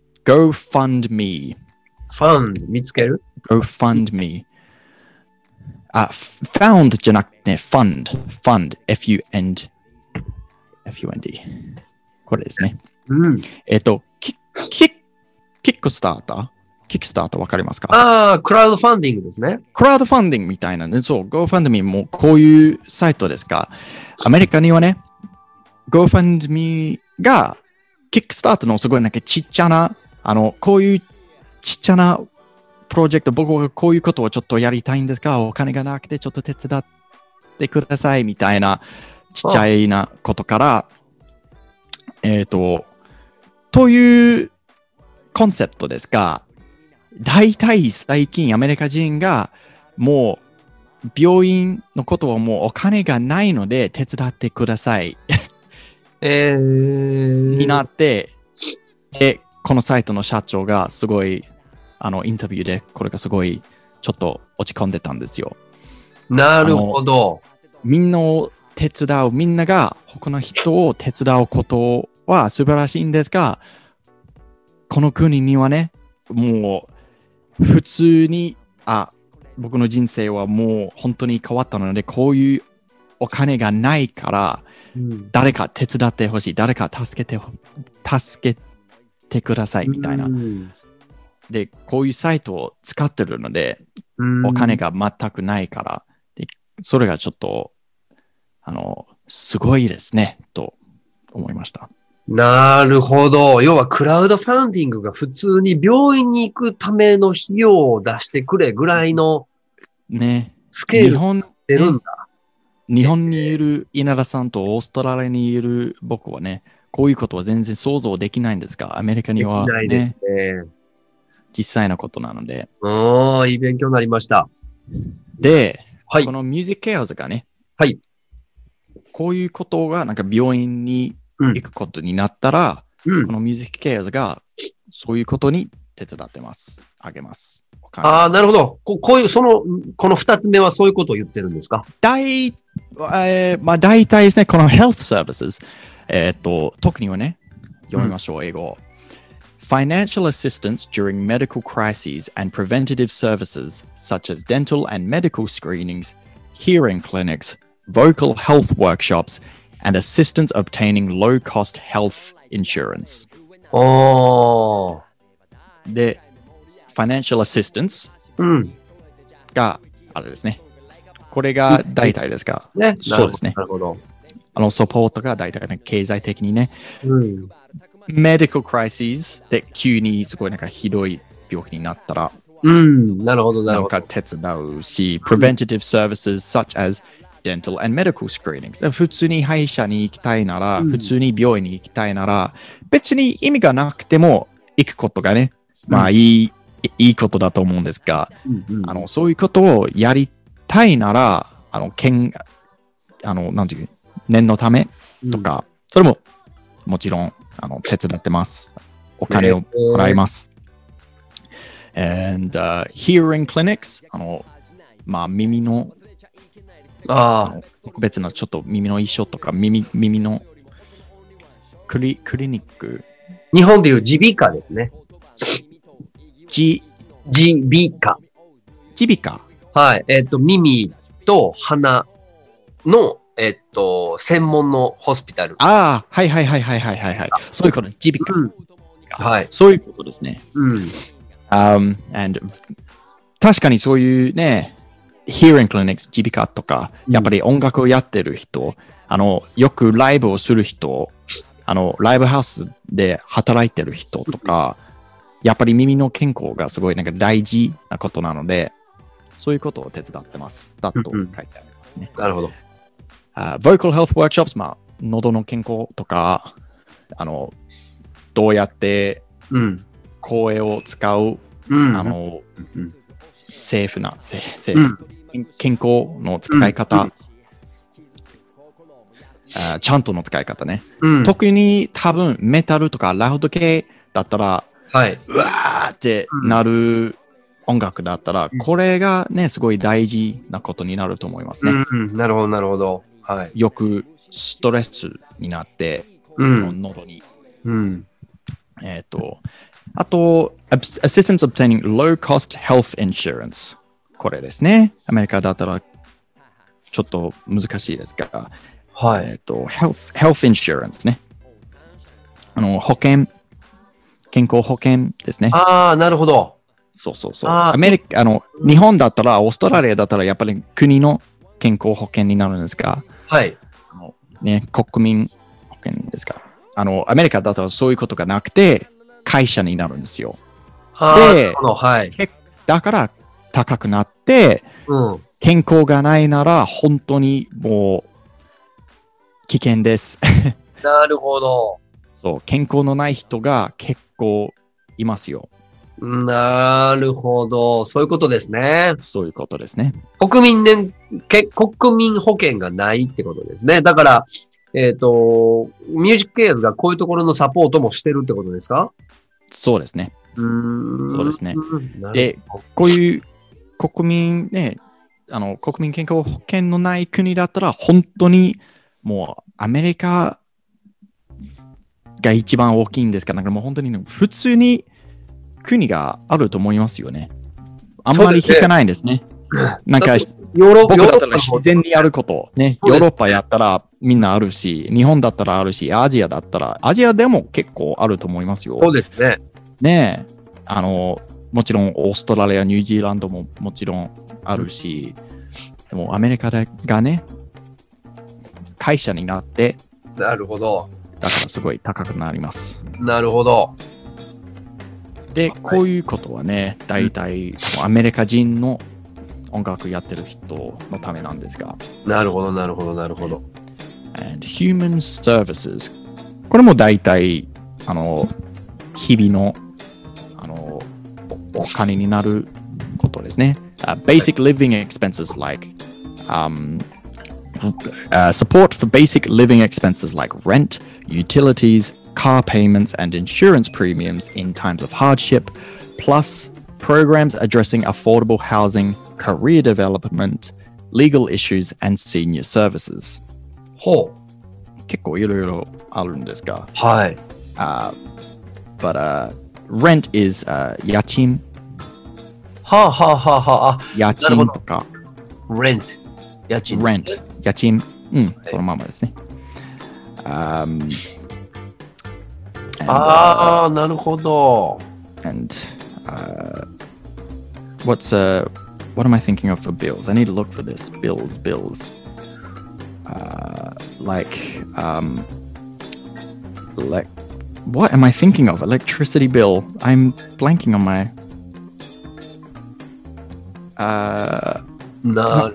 GoFundMe。 Fund 見つける？ GoFundMe。あ、found じゃなくて、ね、fund。fund。F-U-N-D。F-U-N-D。これですね。 うん。 えっ、ー、と、キッ、キッ、キックスターターキックスターターわかりますか？ ああ、クラウドファンディングですね。 クラウドファンディングみたいなね。そう、GoFundMe もこういうサイトですが、アメリカにはね、GoFundMe が、キックスターターのすごいなんかちっちゃな、あの、こういうちっちゃなプロジェクト、僕はこういうことをちょっとやりたいんですが、お金がなくてちょっと手伝ってくださいみたいなちっちゃいなことから、えっと、というコンセプトですが、大体最近アメリカ人がもう病院のことはもうお金がないので手伝ってください、 えー、 になって、で、このサイトの社長がすごいあのインタビューでこれがすごいちょっと落ち込んでたんですよ。 なるほど。 みんなを手伝う、みんなが他の人を手伝うことは素晴らしいんですが、この国にはね、もう普通に、あ、僕の人生はもう本当に変わったので、こういうお金がないから、うん、誰か手伝ってほしい、誰か助けて、助けてくださいみたいな。うん、で、こういうサイトを使ってるので、うん、お金が全くないから、でそれがちょっと、あの、すごいですね、と思いました。 なるほど。要はクラウドファンディングが普通に病院に行くための費用を出してくれぐらいのスケールに出るんだ。 日本にいる稲田さんとオーストラリアにいる僕はね、こういうことは全然想像できないんですが、アメリカには、ね、 できないですね。 実際のことなので。 ああ、いい勉強になりました。 で、 はい、 このミュージックケアーズがね、 はい、 こういうことがなんか病院に行くことになったら、うん、このミュージックケアーズがそういうことに手伝ってます。あげます。 ああ、なるほど。こ, こういう、その、この二つ目はそういうことを言ってるんですか？ 大、えー、まあ大体ですね、この health services、えー、っと、特にはね、読みましょう、うん、英語。Financial assistance during medical crises and preventative services such as dental and medical screenings, hearing clinics, vocal health workshops, and assistance obtaining low-cost health insurance. おー。 で、financial assistance があれですね。これが大体ですか、 ね、 そうですね。 なるほど。 あの、サポートが大体、ね、経済的にね。 うん、 medical crises で急にすごいなんかひどい病気になったら、 うん、なるほど、なるほど。 なんか手伝うし、preventative services such as dental and medical screenings。普通に歯医者に行きたいなら、うん、普通に病院に行きたいなら、別に意味がなくても行くことがね、まあいい、うん、いいことだと思うんですが、うんうん、あのそういうことをやりたいなら、あの、けんあのなんていう、念のためとか、うん、それももちろんあの手伝ってます。お金をもらいます。And、uh, hearing clinics、あの、まあ耳のああ特別なちょっと耳の一緒とか耳耳のクリクリニック。 日本でいう耳鼻科ですね。 じ耳鼻科。 耳鼻科。 はい。えっ、ー、と耳と鼻のえっ、ー、と専門のホスピタル。 ああはいはいはいはいはいはいはい。そういうこと耳鼻科、うん。 はい。 そういうことですね。 うん。 Um, and 確かにそういうね。Hearing clinics、耳鼻科とか、やっぱり音楽をやってる人、うん、あの、よくライブをする人、あの、ライブハウスで働いてる人とか、やっぱり耳の健康がすごいなんか大事なことなので、そういうことを手伝ってます。だと書いてありますね。 うんうん、なるほど。 Uh, vocal health workshops、まあ、喉の健康とか、あの、どうやって声を使う、うん、あの、うん、セーフな、セーフ、うん、健康の使い方、うん、 あちゃんとの使い方ね。 うん。 特に多分メタルとかラウド系だったら、 はい。 うわーってなる音楽だったら、 うんこれがね、すごい大事なことになると思いますね。 うん。なるほど、なるほど。はい。 よくストレスになって、 うん。 喉に。 うん。 えっ、と、あと、assistance obtaining low cost health insurance。これですね。アメリカだったらちょっと難しいですが、 はい。 えっ、と、health, health insurance ね。あの、保険、健康保険ですね。 ああ、なるほど。 そうそうそう。 あーアメリカ、あの、日本だったら、オーストラリアだったら、やっぱり国の健康保険になるんですが、 はい。 あのね、国民保険ですか。あの、アメリカだとそういうことがなくて、会社になるんですよ。 あーでなるほど。はい。 だから高くなって、 うん。 健康がないなら、本当にもう、危険です。 なるほど。 そう、健康のない人が結構いますよ。 なるほど。そういうことですね。 そういうことですね。 国民年、け国民保険がないってことですね。だから、えっ、と、ミュージックケアーズがこういうところのサポートもしてるってことですか？ そうですね。 うーん。 そうですね。 なるで、こういう国民ね、あの、国民健康保険のない国だったら、本当にもうアメリカが一番大きいんですから、なんかもう本当に、ね、普通に国があると思いますよね。あんまり聞かないんですね。なんか、 ヨーロ僕だったらヨーロッパの自然にやること、ね、 そうですヨーロッパやったらみんなあるし、日本だったらあるし、アジアだったら、アジアでも結構あると思いますよ。 そうですね。 ねえ、あの、もちろんオーストラリア、ニュージーランドももちろんあるし、でもアメリカがね、会社になって、 なるほど。 だからすごい高くなります。 なるほど。 で、こういうことはね、大体、多分アメリカ人の音楽やってる人のためなんですが、 なるほど、なるほど、なるほど。 and human services。これも大体、あの、日々の、あの、おお金になることですね。Uh, basic living expenses like um, uh, support for basic living expenses like rent, utilities, car payments, and insurance premiums in times of hardship, plus programs addressing affordable housing, career development, legal issues, and senior services. ほう。 結構いろいろあるんですが、 はい。 uh, but uh, rent is、uh, 家賃、 はあ、はあはあはあ、あ、 家賃とか、 レント。家賃。 rent、家賃、うん、そのままですね。Um, and, ああ、なるほど。 uh, and uh, what's uh, what am I thinking of for bills? I need to look for this. Bills, bills. Uh, like, um, like, what am I thinking of? Electricity bill. I'm blanking on my. Uh, な、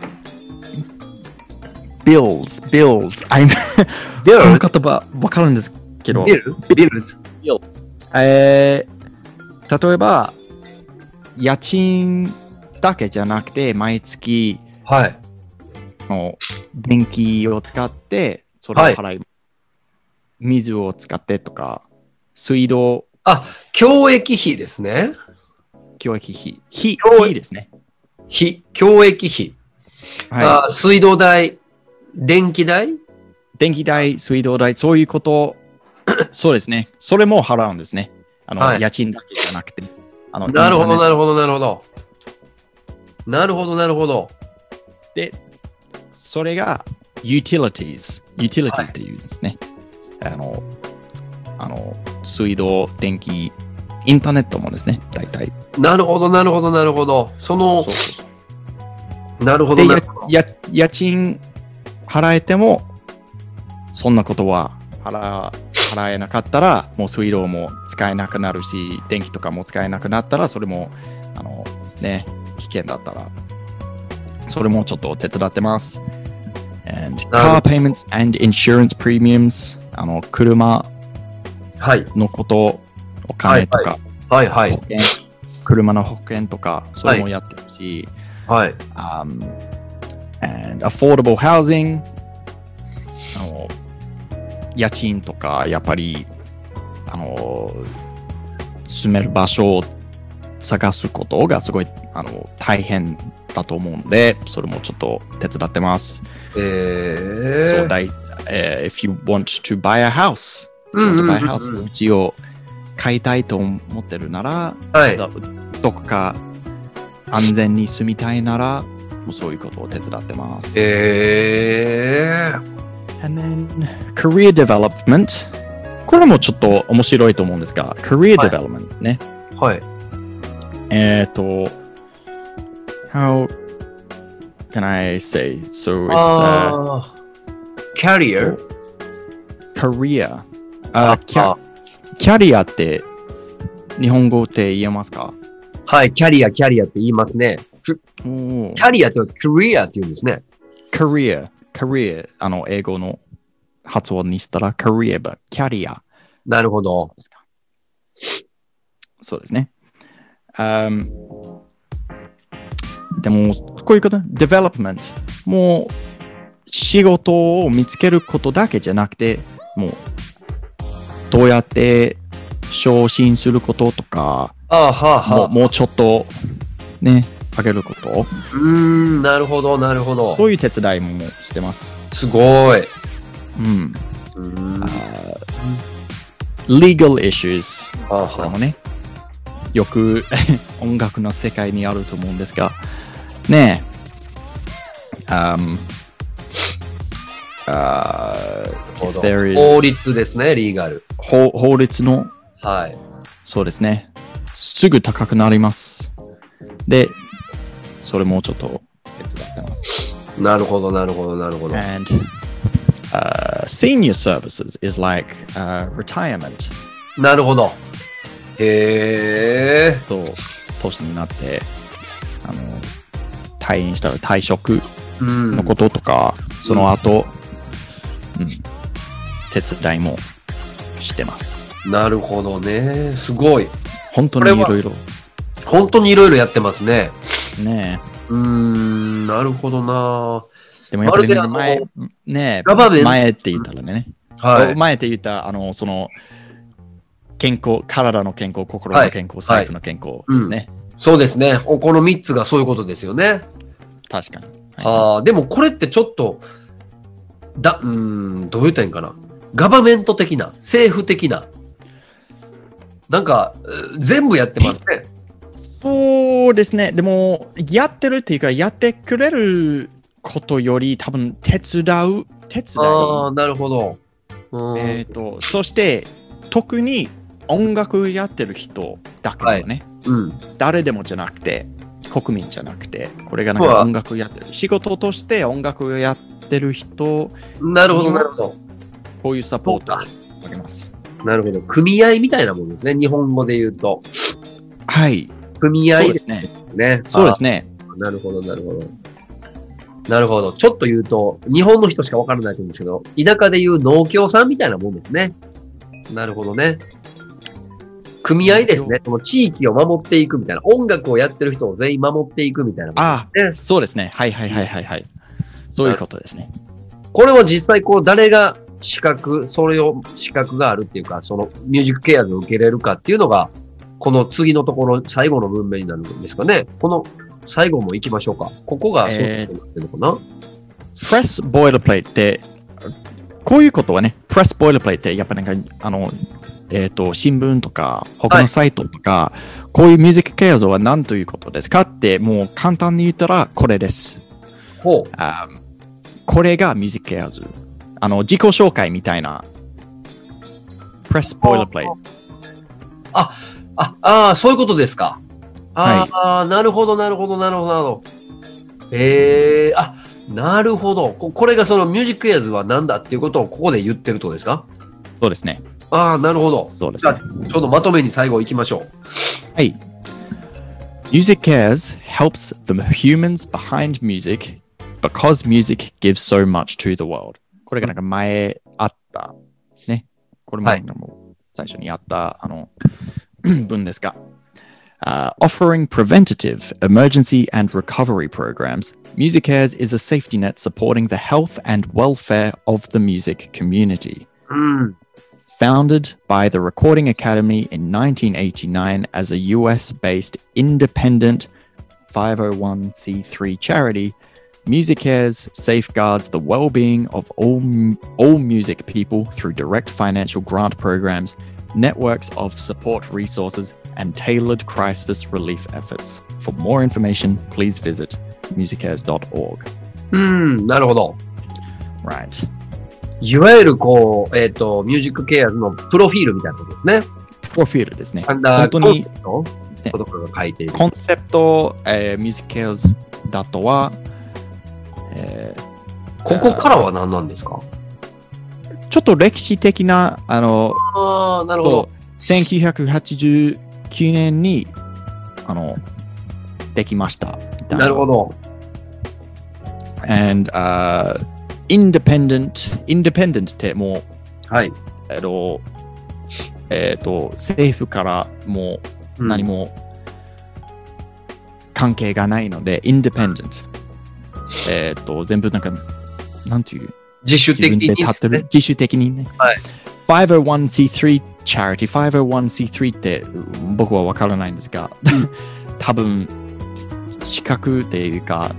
bills, bills. I'm ビルこの言葉わかるんですけど、 ビルビルズえー、例えば家賃だけじゃなくて毎月はい。 の電気を使ってそれを払い、水を使ってとか水道あ、教育費ですね。 教育費費教育費ですね。 費、教育費。 はあ、水道代、電気代。 い。電気代、水道代、そういうことそうですね。それも払うんですね。あの、 はい家賃だけじゃなくて。あのなるほど、なるるほど、なるほど。なるほど、なるほど。 で、それが utilities。utilities っていうんですね。あの、あの、水道、電気、インターネットもですね、大体。 なるほど、なるほど、なるほど。そのそ、うそうなるほど、 で、 なるほど。 やや家賃払えても、そんなことは払払えなかったら、もう水道も使えなくなるし、電気とかも使えなくなったら、それも、あの、ね、危険だったら、それもちょっと手伝ってます。And な car る payments and insurance premiums、あの、車はい、 のこと、お金とか、 はい、はい保、険、車の保険とか、それもやってるし、 はい。 um, and affordable housing あの家賃とか、やっぱり、あの、住める場所を探すことがすごいあの大変だと思うので、それもちょっと手伝ってます。 えー、 そうだい、えー、if you want to buy a house, うんうんうんうん、 buy a house うちを買いたいと思ってるなら、 はい、 ど, どこか安全に住みたいなら、もうそういうことを手伝ってます。 えー、 And then career development。これもちょっと面白いと思うんですが、career development ね。 はい。 えっと、how can I say? So it's uh, career? career. あ、キャ、キャリアって日本語って言えますか？ はい、キャリア、キャリアって言いますね。キャリアってキャリアって言うんですね。 career, career あの英語の発音にしたら career ばキャリア。 なるほど。 そうですね。Um, でも、こういうこと、development。もう、仕事を見つけることだけじゃなくて、もう、どうやって昇進することとか、 あははもう、もうちょっと、ね、上げること。 うーん、なるほど、なるほど。 そういう手伝いもしてます。 すごい。 うん。 うーん uh, legal issues。 あこれもね、よく音楽の世界にあると思うんですが、ねえ、um, uh, there is 法律ですね、リーガル。 法。法律の、 はい。 そうですね、すぐ高くなります。で、それもちょっと手伝ってます。 なるほど、なるほど、なるほど。 And, uh, senior services is like、uh, retirement。 なるほど。へえ。 そう、年になって、あの、退院したら退職のこととか、うん、その後、うん、手伝いもしてます。 なるほどね。すごい。 本当にいろいろ。 本当にいろいろやってますね。 ねえ。うーん、なるほどな。 でもやっぱり、ね、前、ね前って言ったらね、はい、前って言ったあの、その、健康、体の健康、心の健康、はい、財布の健康ですね、 はいうん。そうですね。このみっつがそういうことですよね。 確かに。 はい、あでもこれってちょっと、だ、うーん、どう言ったらいいんかな。ガバメント的な、政府的な、なんか、全部やってますね。 そうですね。でも、やってるっていうか、やってくれることより、多分、手伝う、手伝い。 ああ、なるほど。 えっと、そして、特に音楽やってる人だけだよね、 はいうん。 誰でもじゃなくて、国民じゃなくて、これがなんか音楽やってる。仕事として音楽をやってる人。 なるほど、なるほど。 こういうサポートをあげます。 なるほど。組合みたいなものですね。日本語で言うと。 はい。 組合ですね。 ねそうですね。 なるほど、なるほど。なるほど。ちょっと言うと、日本の人しかわからないと思うんですけど、田舎で言う農協さんみたいなもんですね。なるほどね。組合ですね。その地域を守っていくみたいな。音楽をやってる人を全員守っていくみたいな、ね。 ああ、そうですね。はいはいはいはいはい。そういうことですね。 これは実際こう誰が資格、それを資格があるっていうか、そのミュージックケアーズを受けれるかっていうのが、この次のところ、最後の文面になるんですかね。この最後も行きましょうか。ここがそうなってるのかな、 えー、プレスボイラープレイって、こういうことはね、プレスボイラープレイってやっぱなんか、あの、えっと、新聞とか、他のサイトとか、はい、こういうミュージックケア像は何ということですかって、もう簡単に言ったらこれです。 ほう。 あこれがミュージックケア像。あの、自己紹介みたいな、プレスボイラープレイ。 あ、あ、ああ、そういうことですか。ああ、はい、なるほど、なるほど、なるほど、なるほど。ええー、あ、なるほどこ。これがそのミュージックエアーズは何だっていうことをここで言ってるとですか？ そうですね。 ああ、なるほど。 そうですね。 じゃあ、ちょうどまとめに最後行きましょう。 はい。Music Cares helps the humans behind music because music gives so much to the world. これがなんか前あった、ね。これも最初にあった、はい、あの文ですが。Uh, offering preventative, emergency, and recovery programs, Music Cares is a safety net supporting the health and welfare of the music community. うん。 Founded by the Recording Academy in nineteen eighty-nine as a U S-based independent five oh one c three charity, MusiCares safeguards the well-being of all, all music people through direct financial grant programs, networks of support resources, and tailored crisis relief efforts. For more information, please visit musicares dot org. うん、なるほど。 Right. いわゆるこう、えっ、ー、と、ミュージックケアのプロフィールみたいなことですね。 プロフィールですね。 本当に、ことかが書いている。 コンセプト、えー、ミュージックケアだとは、えー、ここからは何なんですか？ ちょっと歴史的な、あの、 ああ、なるほど。 せんきゅうひゃくはちじゅうきゅうねんに、あの、できました。 なるほど。 And, uh, independent, independent ってもう、 はい。 えっと、えっと、政府からもう何も関係がないので、うん、independent。えっと、全部なんか、なんていう自主的に、ね、 自主的にね。 はい。 ファイブオーワンシースリー charity、ファイブオーワンシースリー って僕はわからないんですが、うん、多分、資格っていうか、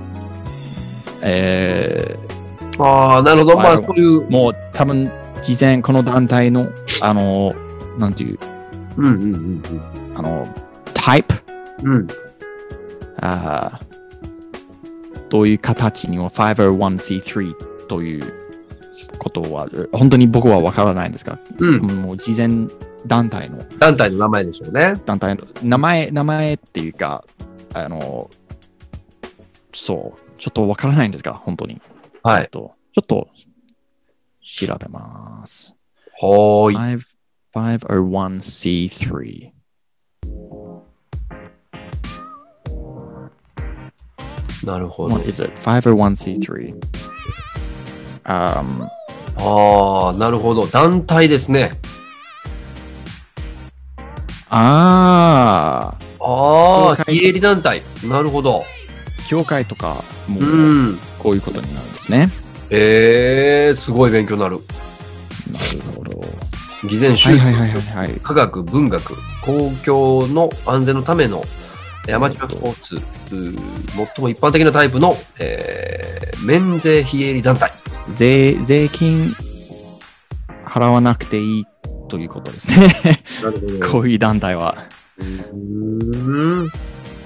えー、ああ、なるほど。まあ、そういう。 もう多分、事前、この団体の、あの、なんていう、 うんうんうんうん、 あの、タイプ、 うん、 あどういう形にも ファイブオーワンシースリー ということは、本当に僕はわからないんですが、 うん、 もう事前団体の。 団体の名前でしょうね。 団体の名前、名前っていうか、あの、そう。ちょっとわからないんですが、本当に。 はい。 ちょっと調べます。 はーい。 ファイブオーワンシースリー。なるほど。 What is it? ファイブオーワンシースリー。Um, ああ、なるほど。団体ですね。 ああ。 ああ、非営利団体。なるほど。 教会とかもこういうことになるんですね。 えー、すごい勉強になる。 なるほど。 偽善宗教、 科学、文学、公共の安全のためのアマチュアスポーツ、最も一般的なタイプの、えー、免税非営利団体。 税、税金払わなくていいということですね。 なるほど。 こういう団体は。 うーん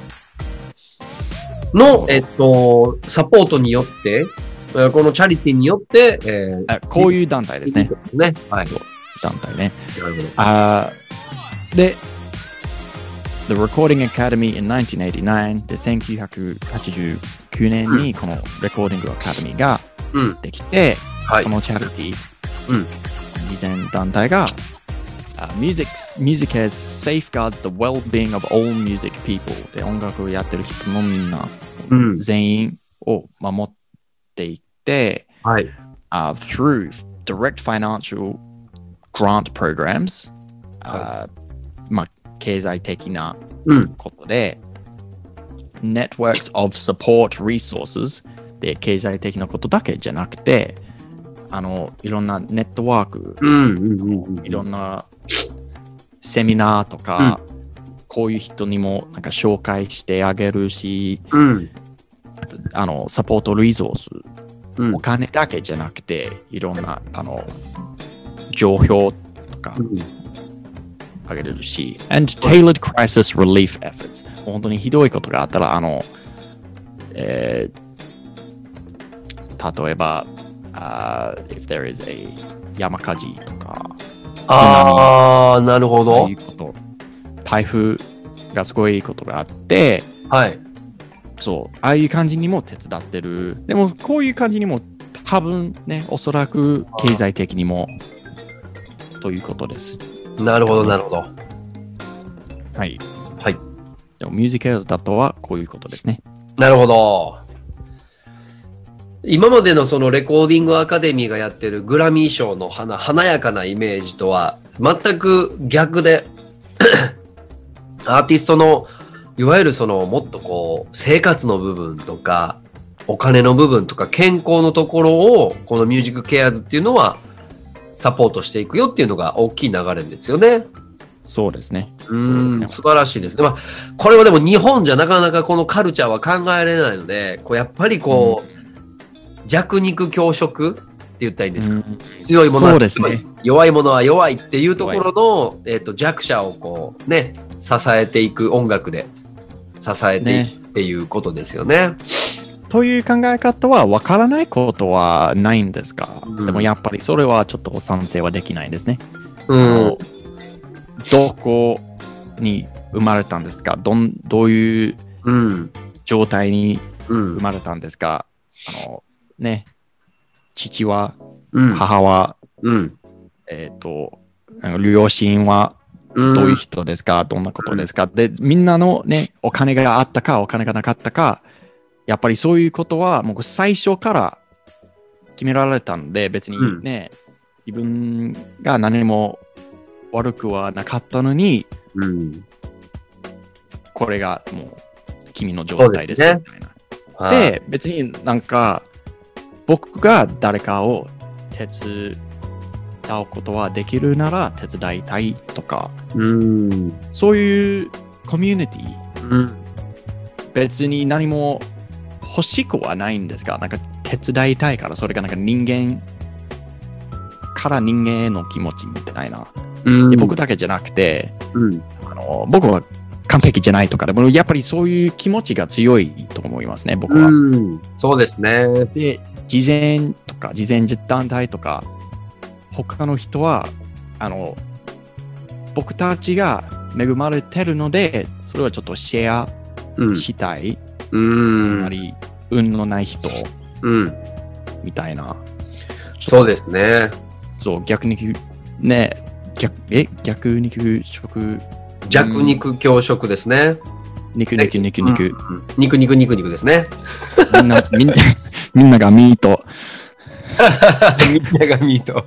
の、えっと、サポートによって、このチャリティーによって、えー、あこういう団体ですね。 ね。はい。 そう団体ね。 なるほど。 あで、The Recording Academy inナインティーンエイティナインでせんきゅうひゃくはちじゅうきゅうねんにこの Recording Academy ができて、 うんはい、 このチャリティー、 うん、 以前団体が、uh, music, MusiCares safeguards the well-being of all music people で音楽をやってる人のみんな、うん、全員を守っていって、 はい uh, through direct financial grant programs、 はい uh, まあ経済的なことで、 うん、 networks of support resources で経済的なことだけじゃなくて、あのいろんなネットワーク、 うんうんうんうん、 いろんなセミナーとか、うん、こういう人にもなんか紹介してあげるし、 うん、 あのサポートリソース、 うん、 お金だけじゃなくていろんなあの情報とか、うんあげれるし、and tailored crisis relief efforts。本当にひどいことがあったら、あの、えー、例えば、uh, if there is a 山火事とか、 ああ、なるほど。 いうこと、台風がすごいことがあって、 はい。 そう、ああいう感じにも手伝ってる。でも、こういう感じにも多分ね、おそらく経済的にもということです。 なるほど、なるほど。 はい。 はい。 でも、ミュージカルだとはこういうことですね。 なるほど。今までのそのレコーディングアカデミーがやってるグラミー賞の華華やかなイメージとは全く逆で、アーティストのいわゆるそのもっとこう生活の部分とかお金の部分とか健康のところをこのミュージックケアーズっていうのはサポートしていくよっていうのが大きい流れですよね。 そうですね。 うん、素晴らしいですね。まあ、これはでも日本じゃなかなかこのカルチャーは考えられないので、こうやっぱりこう、うん、弱肉強食って言ったらいいんですか、うん、強いものは、 そうですね、 弱いものは弱いっていうところの、えーと、弱者をこうね、支えていく音楽で支えていくっていうことですよね。ねという考え方は分からないことはないんですか、うん、でもやっぱりそれはちょっと賛成はできないんですね。うん、どこに生まれたんですか、どんどういう状態に生まれたんですか、うん、あのね、父は、うん、母は、うん、えっと、両親はどういう人ですか、うん、どんなことですか、で、みんなのね、お金があったか、お金がなかったか、やっぱりそういうことはもう最初から決められたんで、別にね、うん、自分が何も悪くはなかったのに、うん、これがもう君の状態ですみたいな。で、ね、別になんか僕が誰かを手伝うことはできるなら手伝いたいとか、うん、そういうコミュニティ、うん、別に何も欲しくはないんですが、なんか手伝いたいから、それがなんか人間から人間への気持ちみたいな。うん、で僕だけじゃなくて、うん、あの僕は完璧じゃないとかでも、やっぱりそういう気持ちが強いと思いますね、僕は。うん、 そうですね。 で、慈善とか、慈善団体とか、他の人は、あの、僕たちが恵まれてるので、それはちょっとシェアしたい。うんうん、あまり運のない人、うん、みたいな。 そうですね。 そう、逆にね、逆え逆肉食。 弱肉強食ですね。 肉肉肉肉、うん。 肉肉肉肉ですね。 みんな、みんな、みんながミート。 みんながミート。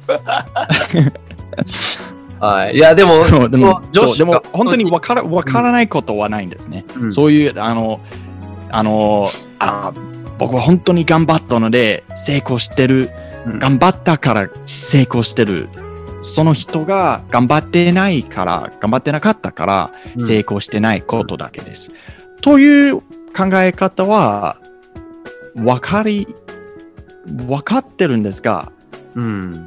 はい。いや、でも、 そうでも、そうでも本当に分から、分からないことはないんですね。うん、そういう、あの、あのあ僕は本当に頑張ったので成功してる、うん、頑張ったから成功してる、その人が頑張ってないから頑張ってなかったから成功してないことだけです、うん、という考え方は分かり分かってるんですが、うん、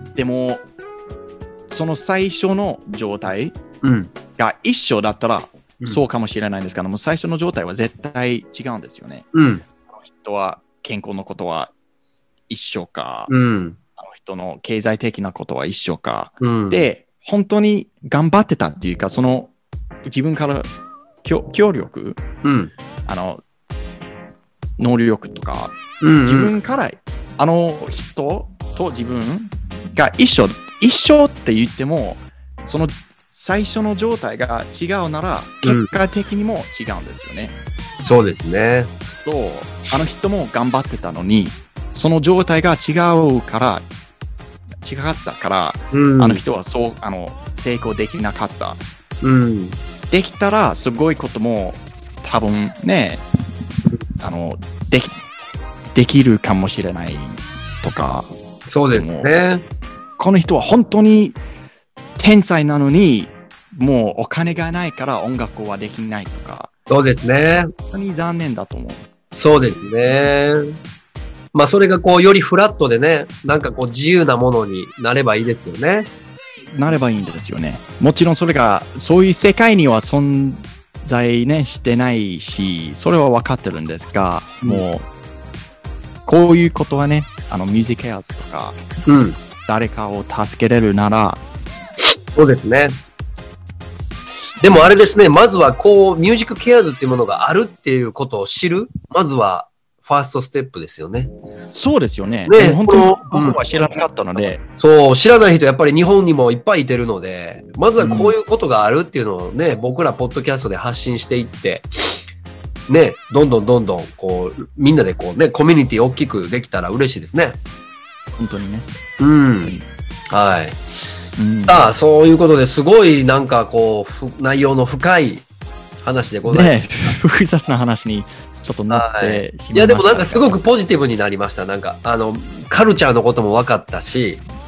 でもその最初の状態が一緒だったら、うん、そうかもしれないんですけども、最初の状態は絶対違うんですよね。うん、あの人は健康のことは一緒か、うん、あの人の経済的なことは一緒か、うん、で、本当に頑張ってたっていうか、その自分から協力、うん、あの能力とか、うんうん、自分からあの人と自分が一緒、一緒って言っても、その最初の状態が違うなら結果的にも違うんですよね。 うん、そうですね。 とあの人も頑張ってたのにその状態が違うから違ったから、うん、あの人はそうあの成功できなかった。うん、できたらすごいことも多分ねあのできできるかもしれないとか。 そうですね。 この人は本当に天才なのにもうお金がないから音楽はできないとか。 そうですね。 本当に残念だと思う。 そうですね。まあそれがこうよりフラットでね、なんかこう自由なものになればいいですよね。 なればいいんですよね。もちろんそれがそういう世界には存在ねしてないし、それは分かってるんですが、うん、もうこういうことはね、あのミュージックエアーズとか、うん、誰かを助けれるなら。 そうですね。でもあれですね、まずはこうミュージックケアーズっていうものがあるっていうことを知る、まずはファーストステップですよね。 そうですよね。ね、本当に僕は知らなかったので、 うん、そう知らない人やっぱり日本にもいっぱいいてるので、まずはこういうことがあるっていうのをね、うん、僕らポッドキャストで発信していって。ね、どんどんどんどんこうみんなでこうねコミュニティ大きくできたら嬉しいですね。 本当にね。 うん。はい。うん、さあそういうことですごいなんかこう内容の深い話でございます。 ね、複雑な話にちょっとなってしまいました。 いやでもなんかすごくポジティブになりました。なんかあのカルチャーのことも分かったし、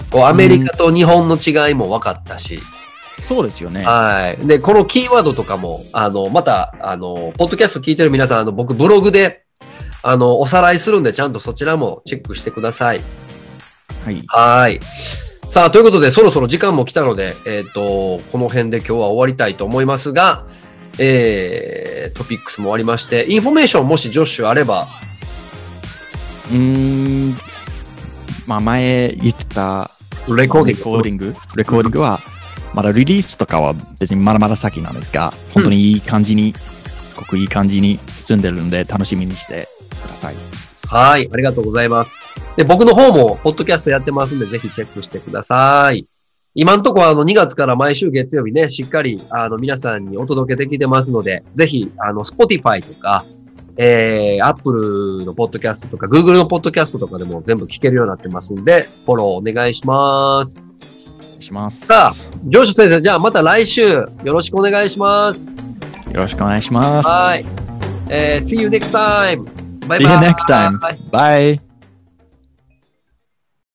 こうアメリカと日本の違いも分かったし、 そうですよね。 はい。で、このキーワードとかも、あの、また、あの、ポッドキャスト聞いてる皆さん、あの、僕、ブログで、あの、おさらいするんで、ちゃんとそちらもチェックしてください。 はい。 はい。さあ、ということで、そろそろ時間も来たので、えっと、この辺で今日は終わりたいと思いますが、えー、トピックスも終わりまして、インフォメーションもしジョッシュあれば、 うーん、まあ前言ってたレコーディング。 レコーディング、レコーディングは、まだリリースとかは別にまだまだ先なんですが、本当にいい感じに、すごくいい感じに進んでるんで、楽しみにしてください。 はい、ありがとうございます。で、僕の方も、ポッドキャストやってますんで、ぜひチェックしてください。今のところ、あの、にがつから毎週月曜日ね、しっかり、あの、皆さんにお届けできてますので、ぜひ、あの、Spotify とか、えー、Apple のポッドキャストとか、Google のポッドキャストとかでも全部聞けるようになってますんで、フォローお願いします。 お願いします。 さあ、ジョシュ先生、じゃあまた来週、よろしくお願いします。 よろしくお願いします。 はい。えー、see you next time. Bye bye. See you next time. Bye.